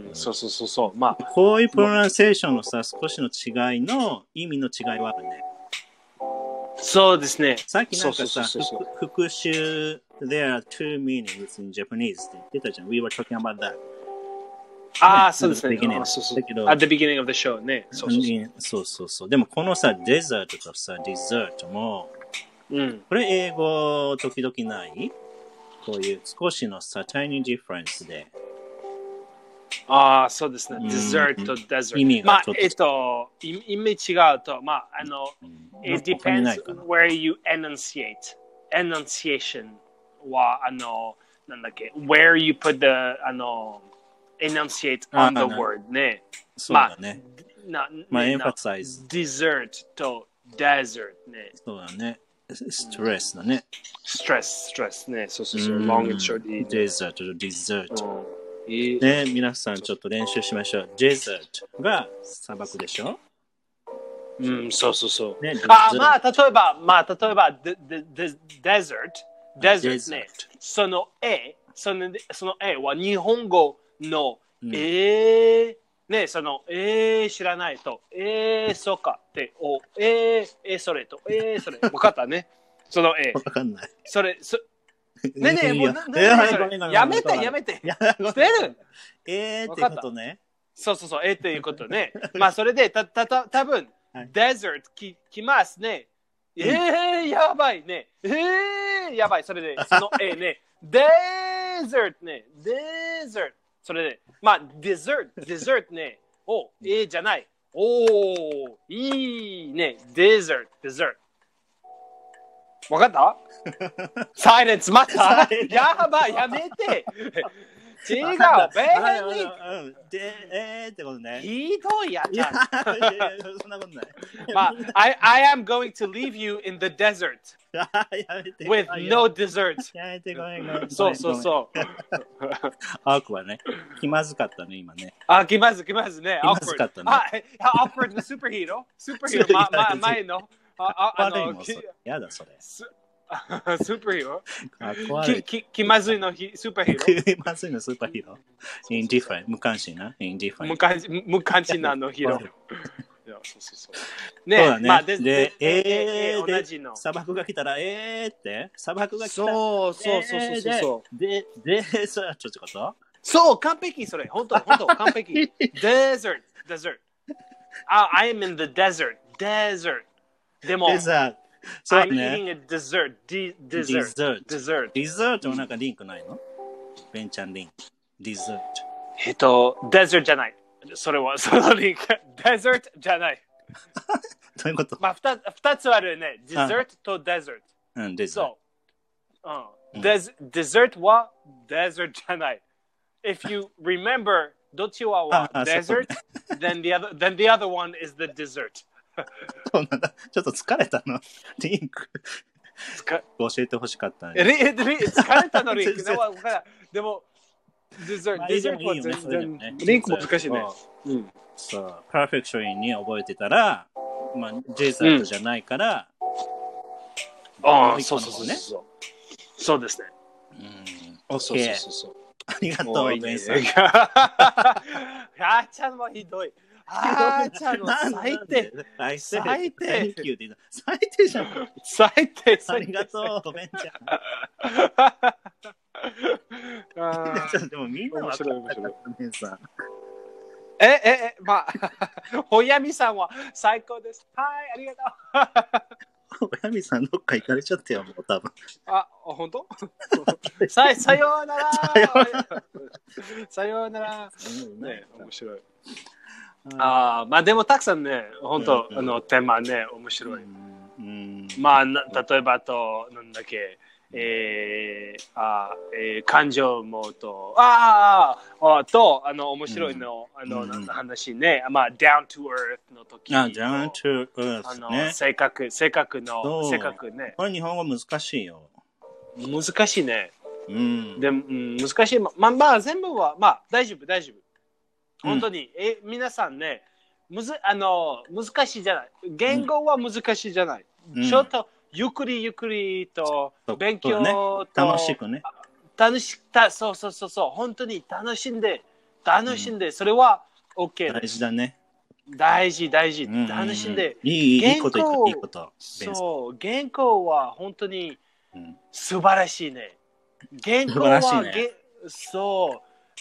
S1: そうそうそうそう。まあ、
S2: こういうプロナンセーションのさ、少しの違いの意味の違いはあるね。
S1: そうですね。
S2: さっきなんかさ、
S1: そうそうそうそう
S2: 復習、there are two meanings in Japanese って言ってたじゃん。We were talking about that.
S1: ああ、そうですね。
S2: beginning
S1: あそうそう
S2: だけど
S1: At the beginning of the show ね。そうそうそう。
S2: そうそうそう。でもこのさ、デザートとさ、デザートも、
S1: うん、
S2: これ英語時々ないこういう少しのさ、tiny difference で。
S1: ああ、そうですね。
S2: うん
S1: dessert と desert。
S2: 意味
S1: まあ
S2: がちょっと、
S1: えっと、意意味違うと、まあ、あの、
S2: うん
S1: it
S2: 他にな
S1: depends
S2: いかな
S1: where you enunciate. Enunciation は、あの、なんだっけ、where you put the, あの、enunciate
S2: あ
S1: on the
S2: あな
S1: word ね。
S2: そうだね。
S1: な、
S2: まあ、
S1: ね
S2: エンファサイズ。
S1: dessert と desert ね。
S2: そうだね。ストレスだね。
S1: stress、stress ね。そうそうそう。
S2: うん
S1: long and short いいね。
S2: デザートとデザート。
S1: うんいい
S2: ね、皆さんちょっと練習しましょう。デザートが砂漠でしょ
S1: うん、そうそうそう。
S2: ね、
S1: あ、
S2: dessert
S1: まあ、例えば、まあ、例えば、で、で、で、desert、desert ね。
S2: desert
S1: その絵、その、その絵は日本語の、
S2: うん
S1: えー、ね、その、えー、知らないと、えー、そうかって、お、えー、えー、それと、えー、それ。わかったね。その絵。
S2: わかんない。
S1: それ、そ、ねえねえ、もう、な、
S2: いや
S1: な、それ
S2: ごめんごめん
S1: やめて、
S2: ごめん
S1: やめて。
S2: いや
S1: 捨てる
S2: えーってことね。
S1: そうそうそう、えー、っていうことね。まあ、それで、た、た、た、多分、
S2: はい
S1: desert き、きますね。えー、やばいね。えー、やばい。それで、その、えーね。desert ね。desert。それで、まあ、dessert、dessert ね。お、えー、じゃない。おー、いいね。desert、dessert。わかったサイレンスまたやばい、やめて。違う、ベーニ
S2: うんで、えーってことね。
S1: ひどいや
S2: いや、そんなことない。
S1: まあ、I, I am going to leave you in the desert
S2: やめて
S1: with no dessert.
S2: やめてごめんごめん。
S1: そうそうそう。
S2: アークはね、気まずかったね、今ね。
S1: あ、気まず気まずね。
S2: 気まずかったね。
S1: あ、awkward のスーパーヒーロースーパーヒーロー、ま、ま、前の。あ、あの、
S2: やだ、それ。
S1: スーパーヒーロ
S2: ー
S1: きき気まずいのヒスーパーヒーロー
S2: 気まずいのスーパーヒーロー。インディファン、無関心な。インディファン。
S1: 無関無関心なのヒーロー。いやそうそうそうね
S2: そうだね。
S1: まあ、で、
S2: で、えー、
S1: 同じの。
S2: 砂漠が来たら、えーって、砂漠が来たら、
S1: そうそうそうそうそう。
S2: で、で、で、そうやっちゃってこと
S1: そう、完璧それ。本当本当完璧。desert、desert。あ、I am in the desert、desert。でも、
S2: デザート。そう
S1: I'm
S2: ね。
S1: eating a dessert、ディ
S2: dessert。
S1: dessert。dessert。
S2: デザートはなんかリンクないのベンチャンリンク。デザート。
S1: えっと、desert じゃない。それは、そのリンク。desert じゃない。
S2: どういうこと
S1: まあ、二つ二つあるね。dessert と desert。
S2: うん、デザート。
S1: そう。うん。Des- dessert は desert じゃない。If you remember どっちはは
S2: ああ
S1: desert, then the other then the other one is the dessert.
S2: そうなんだ。ちょっと疲れたの。リンク。
S1: つか
S2: 教えてほしかったね。
S1: リリ疲れたのリンク。でも、でも dessert、
S2: まあいいじゃん
S1: dessert はい
S2: いよね
S1: 全然、
S2: それでもね
S1: リンク難しいね。うん。
S2: そう、パーフェクションに覚えてたら、まあ、デザートじゃないから、
S1: ああ、そうそうそうそう。そうですね。
S2: うん、
S1: そうそう
S2: OK。
S1: そうそう。
S2: ありがとう、
S1: もういいね
S2: ベンさん。
S1: あーちゃんもひどい。あーちゃんの最低。
S2: 最
S1: 最低
S2: 低。Thank you って言うの最低じゃん。
S1: 最低、
S2: あ
S1: 最低。
S2: りがとう、ベンちゃん。
S1: あー
S2: でもみんな分かったから、ベンさん。
S1: え、え、え、まあ、ほやみさんは最高です。はい、ありがとう。
S2: 親見さんどっか行かれちゃったよ、もう多分。
S1: あ、本当ささようなら
S2: さよう
S1: さようならね、面白い。
S2: あ
S1: あまあでもたくさんね、本当、
S2: うん
S1: あのテーマね、面白い。
S2: うん
S1: まあ、な例えばと、なんだっけ、えー、あえー、感情もと、あああと、あの、面白いの、うん、あの、なんだ話ね、まあ、down to earth の時
S2: あ、down to earth
S1: あの、
S2: ね。
S1: 性格、性格の、性格ね。
S2: これ日本語難しいよ。
S1: 難しいね。
S2: うん。
S1: でも、うん、難しい。まあ、まあ、全部は、まあ、大丈夫、大丈夫。本当に、うん、え、皆さんね、むず、あの、難しいじゃない。言語は難しいじゃない。うん、ちょっと、ゆっくりゆっくりと勉強と、
S2: ね、楽しくね。
S1: 楽しく、そうそうそうそう、本当に楽しんで楽しんで、それは OK
S2: 大事だね。
S1: 大事、大事。
S2: うんうんうん
S1: 楽しんで。
S2: いい、いいこと言った、いいこと。
S1: そう、原稿は本当に素晴らしいね。原稿
S2: 素晴らしい
S1: は、
S2: ね
S1: そう、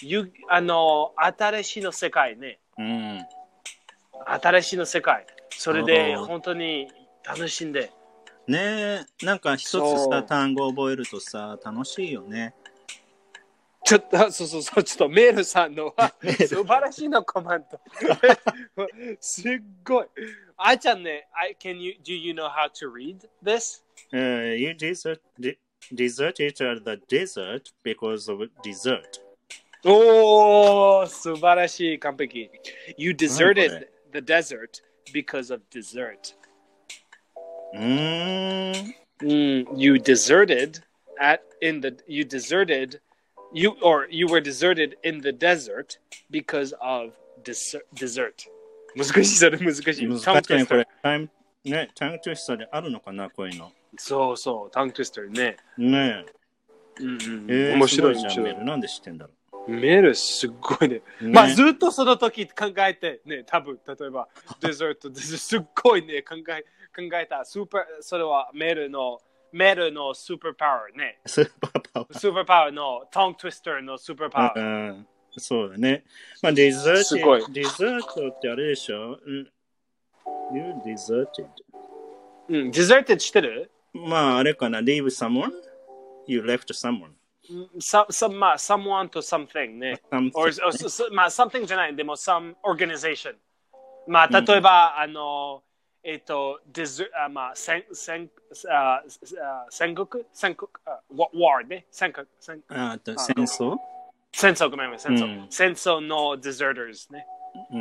S1: ゆあの、新しいの世界ね。
S2: うん。
S1: 新しいの世界。それで
S2: おー
S1: 本当に楽しんで。
S2: ねえ、なんか一つさ、
S1: そう
S2: 単語を覚えるとさ、楽しいよね。
S1: ちょっと、そうそうそう、ちょっとメールさんのは素晴らしいのコメント。すっごい。あーちゃんね、I, can you, do you know how to read this?
S2: Uh, you desert, de- deserted the desert because of dessert.
S1: おー、素晴らしい、完璧。You
S2: 何こ
S1: deserted
S2: れ
S1: the desert because of dessert.
S2: うーん。
S1: Mm, you deserted at in the you deserted you or you were deserted in the desert because of des- dessert. 難しい、それ難しい。
S2: 難しいね、
S1: Tongue
S2: こ
S1: twister
S2: れ。タイム、ね、タングトゥイスターであるのかな、こういうの。
S1: そうそう、タングトゥイスターね。
S2: ね
S1: うんうん
S2: え。えー、
S1: 面白い、
S2: すごじゃん、
S1: 面白い。
S2: メール。なんで知ってんだろ
S1: メールすっごいね。
S2: う。ね
S1: まあずっとその時考えてね、多分例えばデザート、すっごいね、考え考えた。スーパー、それはメールの、メールのスーパーパワーね。
S2: スーパーパワー。
S1: スーパーパワーのタングトゥイスターのスーパーパワー。
S2: うん、そうだね。まあ、デザー
S1: すごい
S2: ト、デザートってあれでしょ、うん、You deserted.
S1: うん、デザートしてる？
S2: まあ、あれかな、leave someone? You left someone.
S1: Some, some, まあ、someone to something ね。
S2: Something
S1: or, or, so- まあ、something じゃない。でも、some organization。まあ、例えば、あの、えっと、デザあまあ、戦、戦、ああ戦国戦国あ war ね。戦国戦
S2: あと戦争
S1: 戦争、ごめんなさい、戦争。
S2: うん
S1: 戦争の deserters ね。
S2: うん。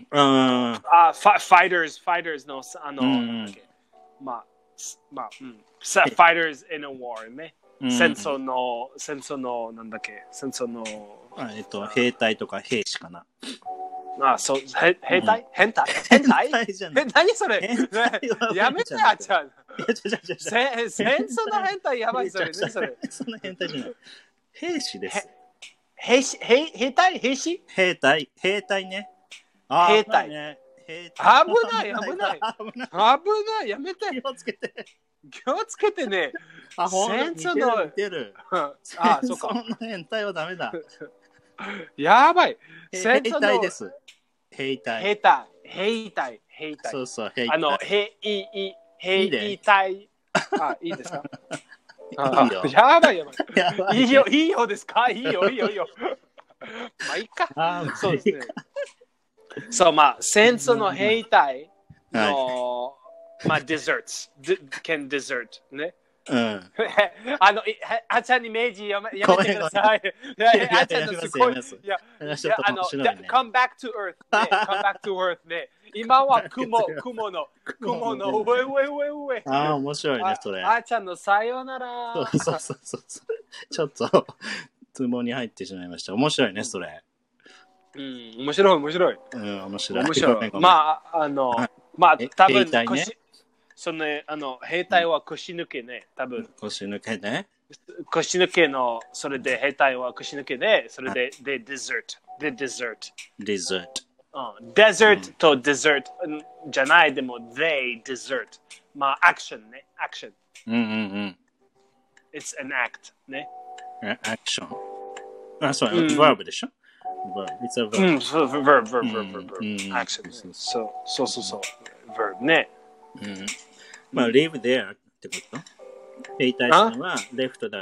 S2: あ
S1: あ、ファ fighters、fighters の、あの、
S2: うん
S1: なんだっけまあ、すまあ、うん。さ fighters in a war ね。
S2: うん
S1: 戦争の、戦争の、なんだっけ戦争の、
S2: あ、えっと、兵隊とか兵士かな。
S1: あ、そう、へ兵隊変態変態
S2: 変態じゃない
S1: え、何それ
S2: 変態は
S1: やめて、あちゃん。
S2: いや、ちょちょちょちょ
S1: せ戦争の変態やばい、それ。何それ
S2: そんな変態じゃない。兵士です。
S1: 兵士、兵兵隊兵士
S2: 兵隊、兵隊ね。あ
S1: 兵隊
S2: 危ないね。兵
S1: 危ない危ない
S2: 危ない。
S1: 危ない、やめて。
S2: 気をつけて。
S1: 気をつけてね。
S2: あ、ほんと
S1: 戦争の
S2: 似てる。
S1: あ、
S2: あ、
S1: そうか。
S2: そんな変態はダメだ。
S1: やばい。
S2: 兵
S1: 戦争の
S2: 隊です。兵隊。
S1: 兵隊、兵隊、兵隊。
S2: そうそう、兵隊。
S1: あの、兵、いい、兵
S2: いいね
S1: 隊。あ、いいですか
S2: いいよ。
S1: やばいやばい。
S2: やばい
S1: いいよ、いいよですかいいよ、いいよ、いいよ。まあ、いいか。
S2: あー
S1: そうですね。そう、まあ、戦争の兵隊の、まあ、desserts。can dessert。ね。
S2: うん。
S1: あの、いあちゃんに明治やめやめてください。いやいやあちゃんのすごい。いや、い
S2: ちょっと
S1: やあの、
S2: 面白いね
S1: come back to earth ね。come back to earth ね。今は雲、雲の、雲の上、上、上、上。
S2: ああ、面白いね、それ。
S1: ああちゃんのさよなら。
S2: そうそうそうそう。ちょっと、ツボに入ってしまいました。面白いね、それ。
S1: うん、面白い、面白い。
S2: うん、面白い。
S1: 面白い。
S2: あ、
S1: まあ、あの
S2: はい、
S1: まあ、
S2: え
S1: 多分
S2: 兵隊ね
S1: 腰、そのね、あの、兵隊は腰抜けね、多分。
S2: 腰抜けね。
S1: 腰抜けの、それで兵隊は腰抜けで、それで、で、dessert。で、dessert。
S2: デザート。
S1: うん、dessert と dessert じゃない、でも、they dessert。まあ、アクションね、アクション。
S2: うんうんうん。
S1: It's an act ね。
S2: アクション。あ、そう、
S1: うん
S2: verb でしょ ?verb。It's a
S1: う
S2: verb.
S1: ん、そう、verb、verb、
S2: うん
S1: verb、verb、
S2: うん
S1: action
S2: そう
S1: そう、そうそうそう、verb ね。
S2: うん。まあ、live there ってこと兵隊さんは left the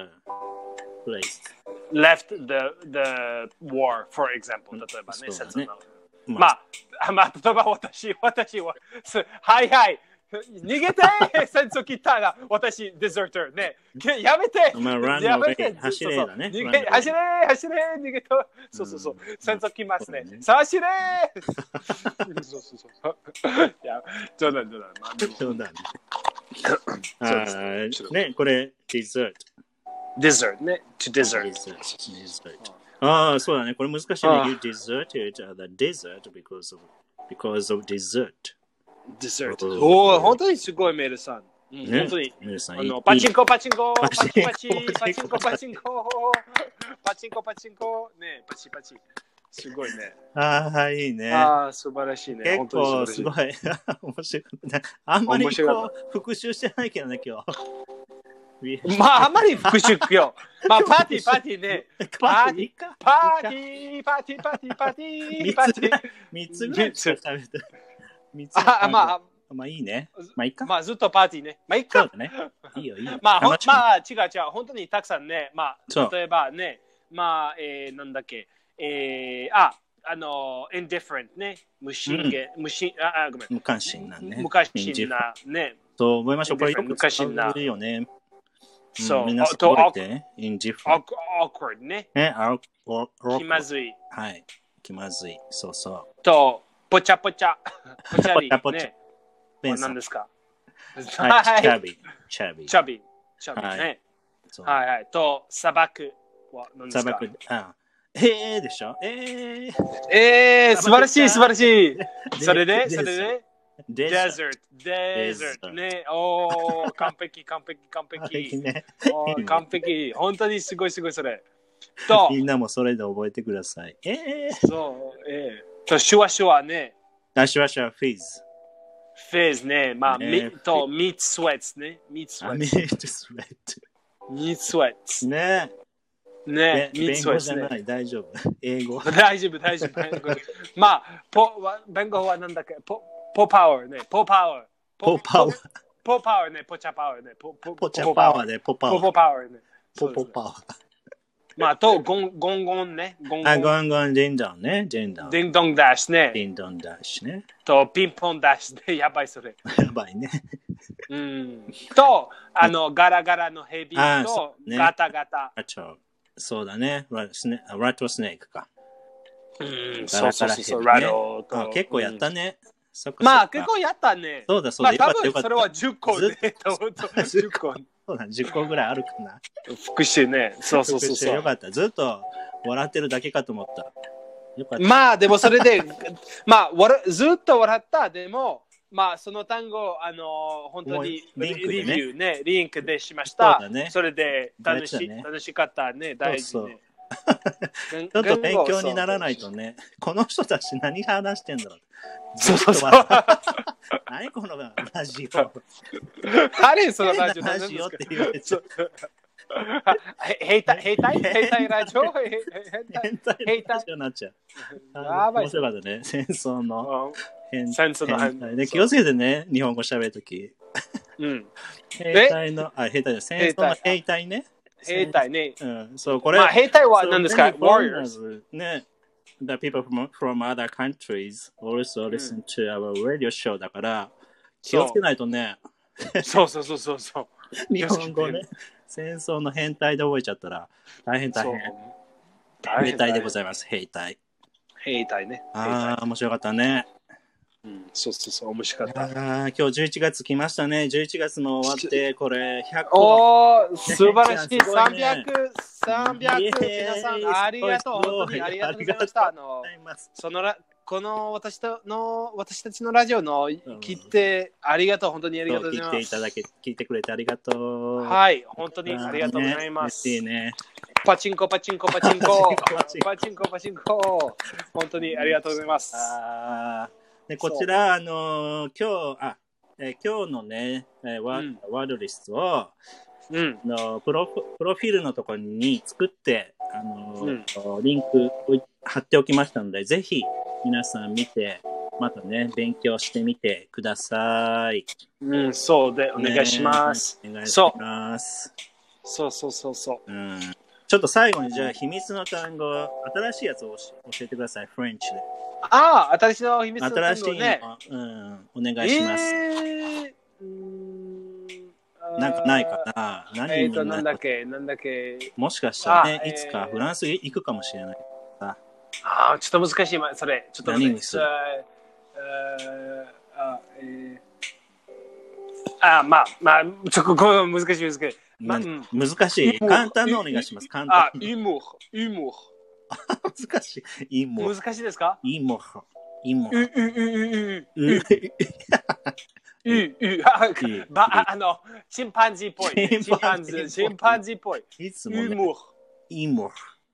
S2: place.
S1: left the, the war, for example. 例えばね、
S2: そうだね
S1: 戦争の。
S2: ま
S1: まあ、まあ、例えば私、私は、すはいはい、逃げて戦争来たら、私、デザーターね。けやめて
S2: まあ run
S1: やめて
S2: away 走れだね
S1: そうそう逃
S2: run
S1: げ
S2: away
S1: 走れ走れ逃げとそうそうそう
S2: うん。
S1: 戦争来ますね
S2: そうだね。
S1: さあ走れそうそうそう。いや、冗談冗談。まあでも
S2: そうだね。あ
S1: そうです
S2: ーね、これ、dessert。
S1: dessert ね。to dessert。
S2: dessert。dessert。ああ、そうだね。これ難しいね。
S1: ああ
S2: You deserted the desert because of, because of dessert.
S1: dessert。
S2: うん
S1: おお、本当にすごいメールさん。うん
S2: ね
S1: 本当に。
S2: 皆さん
S1: あの
S2: いい
S1: パチンコパチンコパ
S2: パチンコ
S1: チパチパチンコパチンコパチンコパチンコねパチパチすごいね。
S2: ああ、いいね。
S1: ああ、素晴らしいね。
S2: 結構すごい。面白かったね。あんまりこう復習してないけどね、今日。
S1: まあ、あんまり復習今日。まあ、パーティー、パーティーね。
S2: パーティーか。
S1: パーティー、パーティー、パーティー、パーティー、パーティー。
S2: みっつぐらいしか食べてみっつ。
S1: あ、まあ、
S2: まあいいね。まあいいか。
S1: まあずっとパーティーね。まあいいか。
S2: そうだね。いいよいいよ。
S1: まあ、ほまあ違う違う。本当にたくさんね。まあ、例えばね。まあ、えー、なんだっけ。えー、あ、あの、indifferent ね。無心言、無心、あ、ごめん。
S2: 無関心なね。
S1: 無関心なね。
S2: そう思いましょう。これよく使うよね。
S1: そう。
S2: みんな覚えて。indifferent。
S1: awkward ね。
S2: ね、
S1: 気まずい。
S2: はい。気まずい。そうそう。
S1: と、ぽちゃぽちゃ。ぽちゃり。
S2: ぽちゃ。
S1: 何ですか？
S2: はい。チャビ。チャビ。
S1: チャビ。チャビね。はいはい。と、砂漠は何ですか？
S2: 砂漠。あえーでしょえー。
S1: えー、素晴らしい素晴らしい。それで、それで、デザート。デザート。ね。おー、完璧、完璧、完璧。完璧。本当にすごいすごいそれ。
S2: と、みんなもそれで覚えてください。え
S1: ー。そう、えー。と、シュワシュワね。
S2: あ、シュワシュワ、フィズ。
S1: フェーズね。まあ、ねと、ミートスウェッツね。ミートスウェッツ。
S2: ミートスウェッツ。
S1: ミートスウェッツ。
S2: ね
S1: ねミートスウェッツ、
S2: ね。弁護じゃない、大丈夫。英語。
S1: 大丈夫、大丈夫。まあ、ポ弁護はなんだっけポポパワーね。ポパワー。
S2: ポパワー。
S1: ポパワーね。ポチャパワーね。ポ
S2: ポチャパワーね。ポパワー。
S1: ポパワーね。
S2: ポポパワー。
S1: まあ、と、ゴンゴンゴンね。
S2: ゴンゴン。あ、ゴンゴン、ディンドンね。ディンドン。
S1: ディンドンダッシュね。
S2: ディンドンダッシュね。
S1: と、ピンポンダッシュで、やばいそれ。
S2: やばいね。
S1: うん。と、あの、ガラガラのヘビと、ガタガタ。
S2: そうだね。ラットスネークか。
S1: うん、そうそうそう。ラト
S2: と。結構やったね。
S1: まあ、結構やったね。
S2: そうだそうだ。
S1: まあ、多分それはじゅっこで。じゅっこ。
S2: そうだ、じゅっこぐらいあるかな。
S1: 復習ね。そうそうそうそう。
S2: よかった。ずっと笑ってるだけかと思った。
S1: よかった。まあ、でもそれで、まあ、ずっと笑った。でも、まあ、その単語、あの、本当にリビューね、リンクでしました。
S2: そうだね。
S1: それで楽し、ね、楽しかったね。大事ね。
S2: ちょっと勉強にならないとね。この人たち何話してんだろう。
S1: そうそうそう。
S2: 何このラジオ。
S1: あれそのラジオ。
S2: ラジオって言われちゃう。
S1: 兵隊兵隊兵隊ラジオ
S2: 変態ラジオになっちゃう。やばい。面白かったね。戦争の
S1: 変態
S2: で気をつけてね。日本語喋るとき。
S1: うん。
S2: 兵隊の、あ、兵隊の戦争の兵隊ね。
S1: 兵隊ね。
S2: うん。そう、これ。
S1: まあ、兵隊は何ですか ?Warriors。
S2: ね。The people from, from other countries also listen to our radio show だから、気をつけないとね。
S1: そうそうそうそうそう。
S2: 日本語ね。戦争の変態で覚えちゃったら大変大変。兵隊でございます。兵隊。
S1: 兵隊ね。
S2: ああ、面白かったね。
S1: うん、そうそうそう、面白かった。
S2: ああ、今日じゅういちがつ来ましたね。じゅういちがつも終わって、これひゃく。
S1: おー、素晴らしい。さんびゃく、さんびゃく、皆さん、ありがとう。本当にありがとうございました。あの、そのら、この私との、私たちのラジオの聞いて、ありがとう。本当にありがとうございます。
S2: 聞いていただけ、聞いてくれてありがとう。
S1: はい、本当にありがとうございます。
S2: いいね。
S1: パチンコ、パチンコ、パチンコ。パチンコ、パチンコ。本当にありがとうございます。
S2: あでこちら、あのー、今日、あ、えー、今日のね、えーワうん、ワードリストを、うん、のプロ、プロフィールのところに作って、あのーうん、リンクを貼っておきましたので、ぜひ皆さん見て、またね、勉強してみてください。
S1: うん、そうで、お願いします。
S2: ね、お願いします。
S1: そうそうそうそう。
S2: うんちょっと最後にじゃあ秘密の単語、新しいやつを教えてください、フレンチで。
S1: ああ、新しいの秘密の単語ね。
S2: 新しいの、うん、お願いします。えー、なんかないかな
S1: 何えっ、ー、と、なんだっけ、なんだっけ。
S2: もしかしたらね、いつかフランス行くかもしれない。
S1: ああ、ちょっと難しい、それ。ちょっと
S2: 何にする
S1: あ、えー、あ、まあ、まあ、ちょっとこの難しい難しい。
S2: ま、難しい。簡単なお願いします。簡単。
S1: あ、イモー、イモ
S2: ー。難しい。イモ
S1: ー。難しいですか
S2: イモー。イモ
S1: ー。う、う、う、う、う、う、う、ば、あの、チンパンジーっぽい。チンパンジー、チンパンジーっぽい。
S2: いつもね。
S1: イモー。
S2: イモー。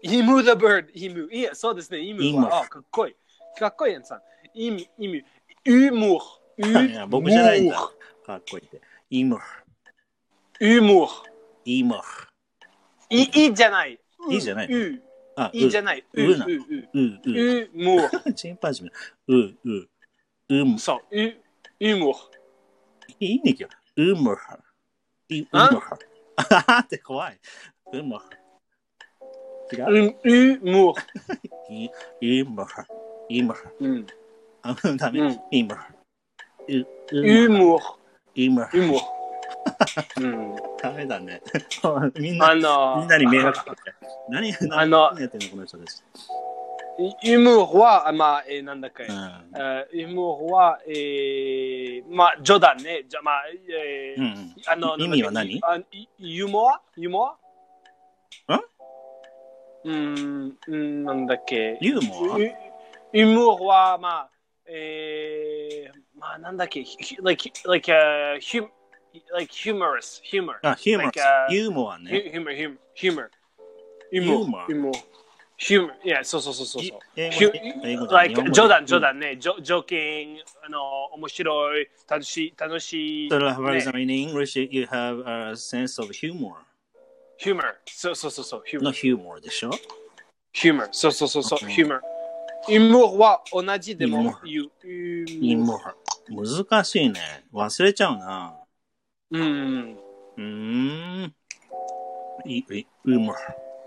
S1: イム the bird。イム。いや、そうですね。イムは。
S2: イム
S1: あ、かっこいい。かっこいいやんさん。イム、イム。ウム。ウ
S2: いや、僕じゃないんだ。かっこいいって。イム。
S1: ウム。
S2: イム。
S1: い、いじゃない。
S2: いいじゃない。
S1: う。
S2: あ、
S1: いじゃない。う、
S2: うな。
S1: う、う。
S2: う、う。
S1: うむ。
S2: チンパンジー。う、う。うむ。
S1: そう。う、うむ。
S2: いいねきよ。うむ。うむ。あはって怖い。うむ。違う。
S1: う、うむ。
S2: い、いむ。いむ。
S1: うん。
S2: あ、ダメ。いむ。う、
S1: うむ。
S2: いむ。
S1: うむ。うん。
S2: ダメだね。みんな、
S1: あのー、
S2: みんなに迷惑かけて。何、
S1: あの
S2: 何やってんのこの人です。
S1: ユムは、まあ、えー、なんだっけ、
S2: うん
S1: ユムは、えー、まあ、冗談ね。じゃ、まあ、えー
S2: うんうん
S1: あの、
S2: 意味は何
S1: あユモアユモア
S2: ん
S1: うん、うんなんだっけ
S2: ユーモア
S1: ユユムは、まあ、えー、まあ、なんだっけ like, like, uh, hum, like humorous, humor.
S2: あ、ヒューモア
S1: Like, uh,
S2: ユーモアね。
S1: humor, humor, humor.
S2: ユーモア
S1: humor. humor. Yeah, そうそうそうそうそう。
S2: 英語
S1: Hu-
S2: 英語じゃない
S1: like
S2: 日本語で
S1: 冗談冗談ね。ジョジョーキング、あの、面白い、楽しい、楽しい。
S2: それは、for
S1: ね
S2: example, in English, you have a sense of humor.
S1: humor. そうそうそうそう。
S2: の
S1: humor.
S2: humor でしょ
S1: humor. そうそうそうそう。
S2: うん
S1: humor. humor は同じでも
S2: humor
S1: 言う。
S2: humor 難しいね。忘れちゃうな。
S1: うん。
S2: うーん。い、い、humor。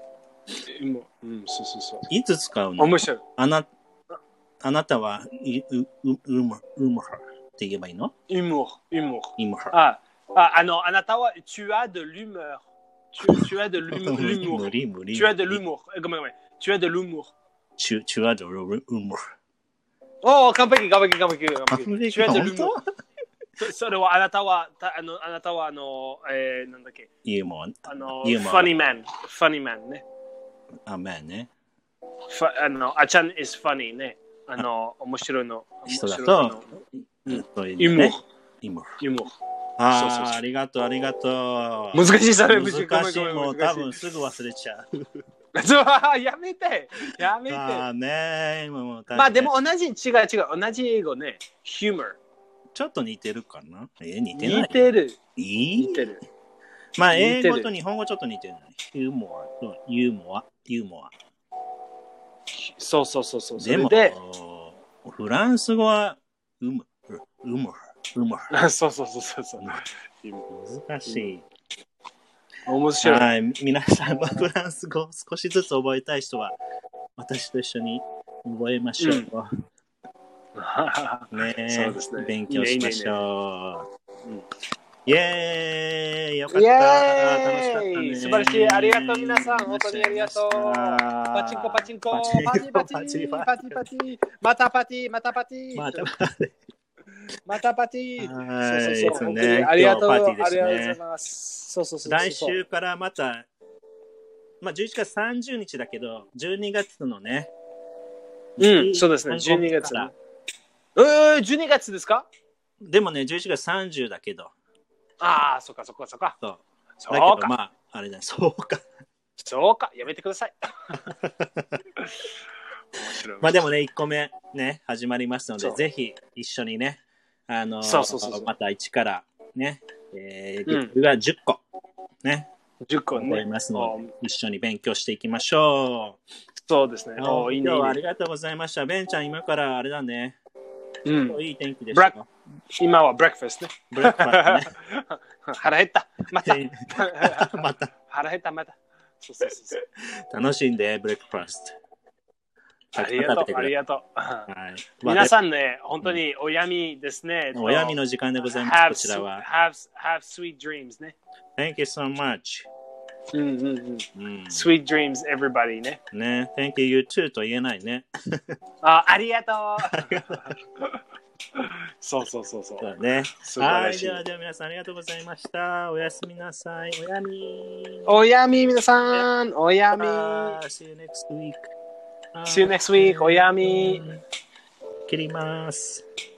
S1: humor うん、そうそうそう。
S2: いつ使うの
S1: 面白い。
S2: あな、あなたは、い、う、う、humor、humor って言えばいいの
S1: humor. humor.
S2: humor。
S1: あ、あ、あの、あなたは、tu as de l'humeur. Tu, tu as de l'humour.
S2: 無理無理。
S1: Tu as de l'humour. えごめんごめん。Tu as de l'humour.
S2: チュ、チュアドル、humor。
S1: おお、完璧、完璧、完璧、完
S2: 完
S1: 璧。
S2: 璧、本当
S1: そそれはあなたは、たあの、あなたはあの、えー、なんだっけ、
S2: ユーモア。
S1: あの、
S2: ユーモア
S1: funny man、funny man ね。
S2: あ、まあね。
S1: ふあの、あちゃん is funny ね。あの、面白いの。
S2: 人だ
S1: 面白い
S2: と
S1: の、
S2: うんそういう
S1: ユモ
S2: のね。ユモ
S1: ユモ
S2: あ
S1: そうそうそう
S2: あ、ありがとう、ありがとう。
S1: 難しい、それ。
S2: 難しい、もう多分
S1: 難し
S2: すぐ忘れちゃう。
S1: い。そうやめてやめて
S2: ああね、今もう大変
S1: まあでも同じ、違う違う、同じ英語ね。humor。
S2: ちょっと似てるかなえ、似てない
S1: 似てる。
S2: いい
S1: 似てる。
S2: まあ、
S1: 似てる
S2: 英語と日本語ちょっと似てるね。ユーモアとユーモア、ユーモア。
S1: そうそうそうそう。そ
S2: でも
S1: れで、
S2: フランス語は、うむ、うむ、うむ。
S1: そうそうそうそうそう。
S2: 難しい。
S1: 面白い。
S2: はい、皆さんもフランス語少しずつ覚えたい人は、私と一緒に覚えましょう。ねえ、
S1: そうですね。
S2: 勉強しましょう。
S1: いいねいいね
S2: イェーイよかった
S1: イエーイ
S2: 楽しかったね
S1: 素晴らしいありがとう皆さん本当にありがとうパチンコパチンコパチパチパチパチパチまたパチまたパチ
S2: またパチ
S1: またパチ
S2: はい
S1: そうそうそう
S2: ですね
S1: ありがとう、
S2: 今日はパーティーですね
S1: ありがとうございますそうそうそうそう
S2: 来週からまたまあじゅういちがつさんじゅうにちだけどじゅうにがつのね
S1: うんそうですねじゅうにがつえー、じゅうにがつですか
S2: でもねじゅういちがつさんじゅうだけど
S1: ああそっかそっかそっか
S2: そう
S1: そう
S2: だけど
S1: か
S2: まああれだそうか
S1: そうかやめてください
S2: まあでもねいっこめね始まりますので
S1: そう
S2: ぜひ一緒にねあの
S1: そうそうそうそう
S2: また一からねえー、
S1: うん
S2: 月がじゅっこね
S1: じゅっこね
S2: 覚えますので一緒に勉強していきましょう
S1: そうですねおいいね
S2: 今日はありがとうございましたベンちゃん今からあれだね
S1: うん
S2: いい天気でしたか
S1: 今はブレックファストね
S2: ブレックファストね
S1: 腹減ったまた
S2: また
S1: 腹減ったまたそうそうそうそう
S2: 楽しんでブレックファスト
S1: ありがとうありがとう
S2: はい
S1: 皆さんね本当におやみですね
S2: おやみの時間でございますこちらは
S1: have, have sweet dreams ね
S2: Thank you so much
S1: うんうんうん、うん、Sweet dreams everybody ね
S2: ね Thank you you too と言えないね
S1: あありがとうそうそうそうそう
S2: そうね
S1: 素晴らしい
S2: はいではでは皆さんありがとうございましたおやすみなさいおやみ
S1: おやみ皆さんおやみ
S2: See you next week
S1: See you next week おやみ
S2: 切ります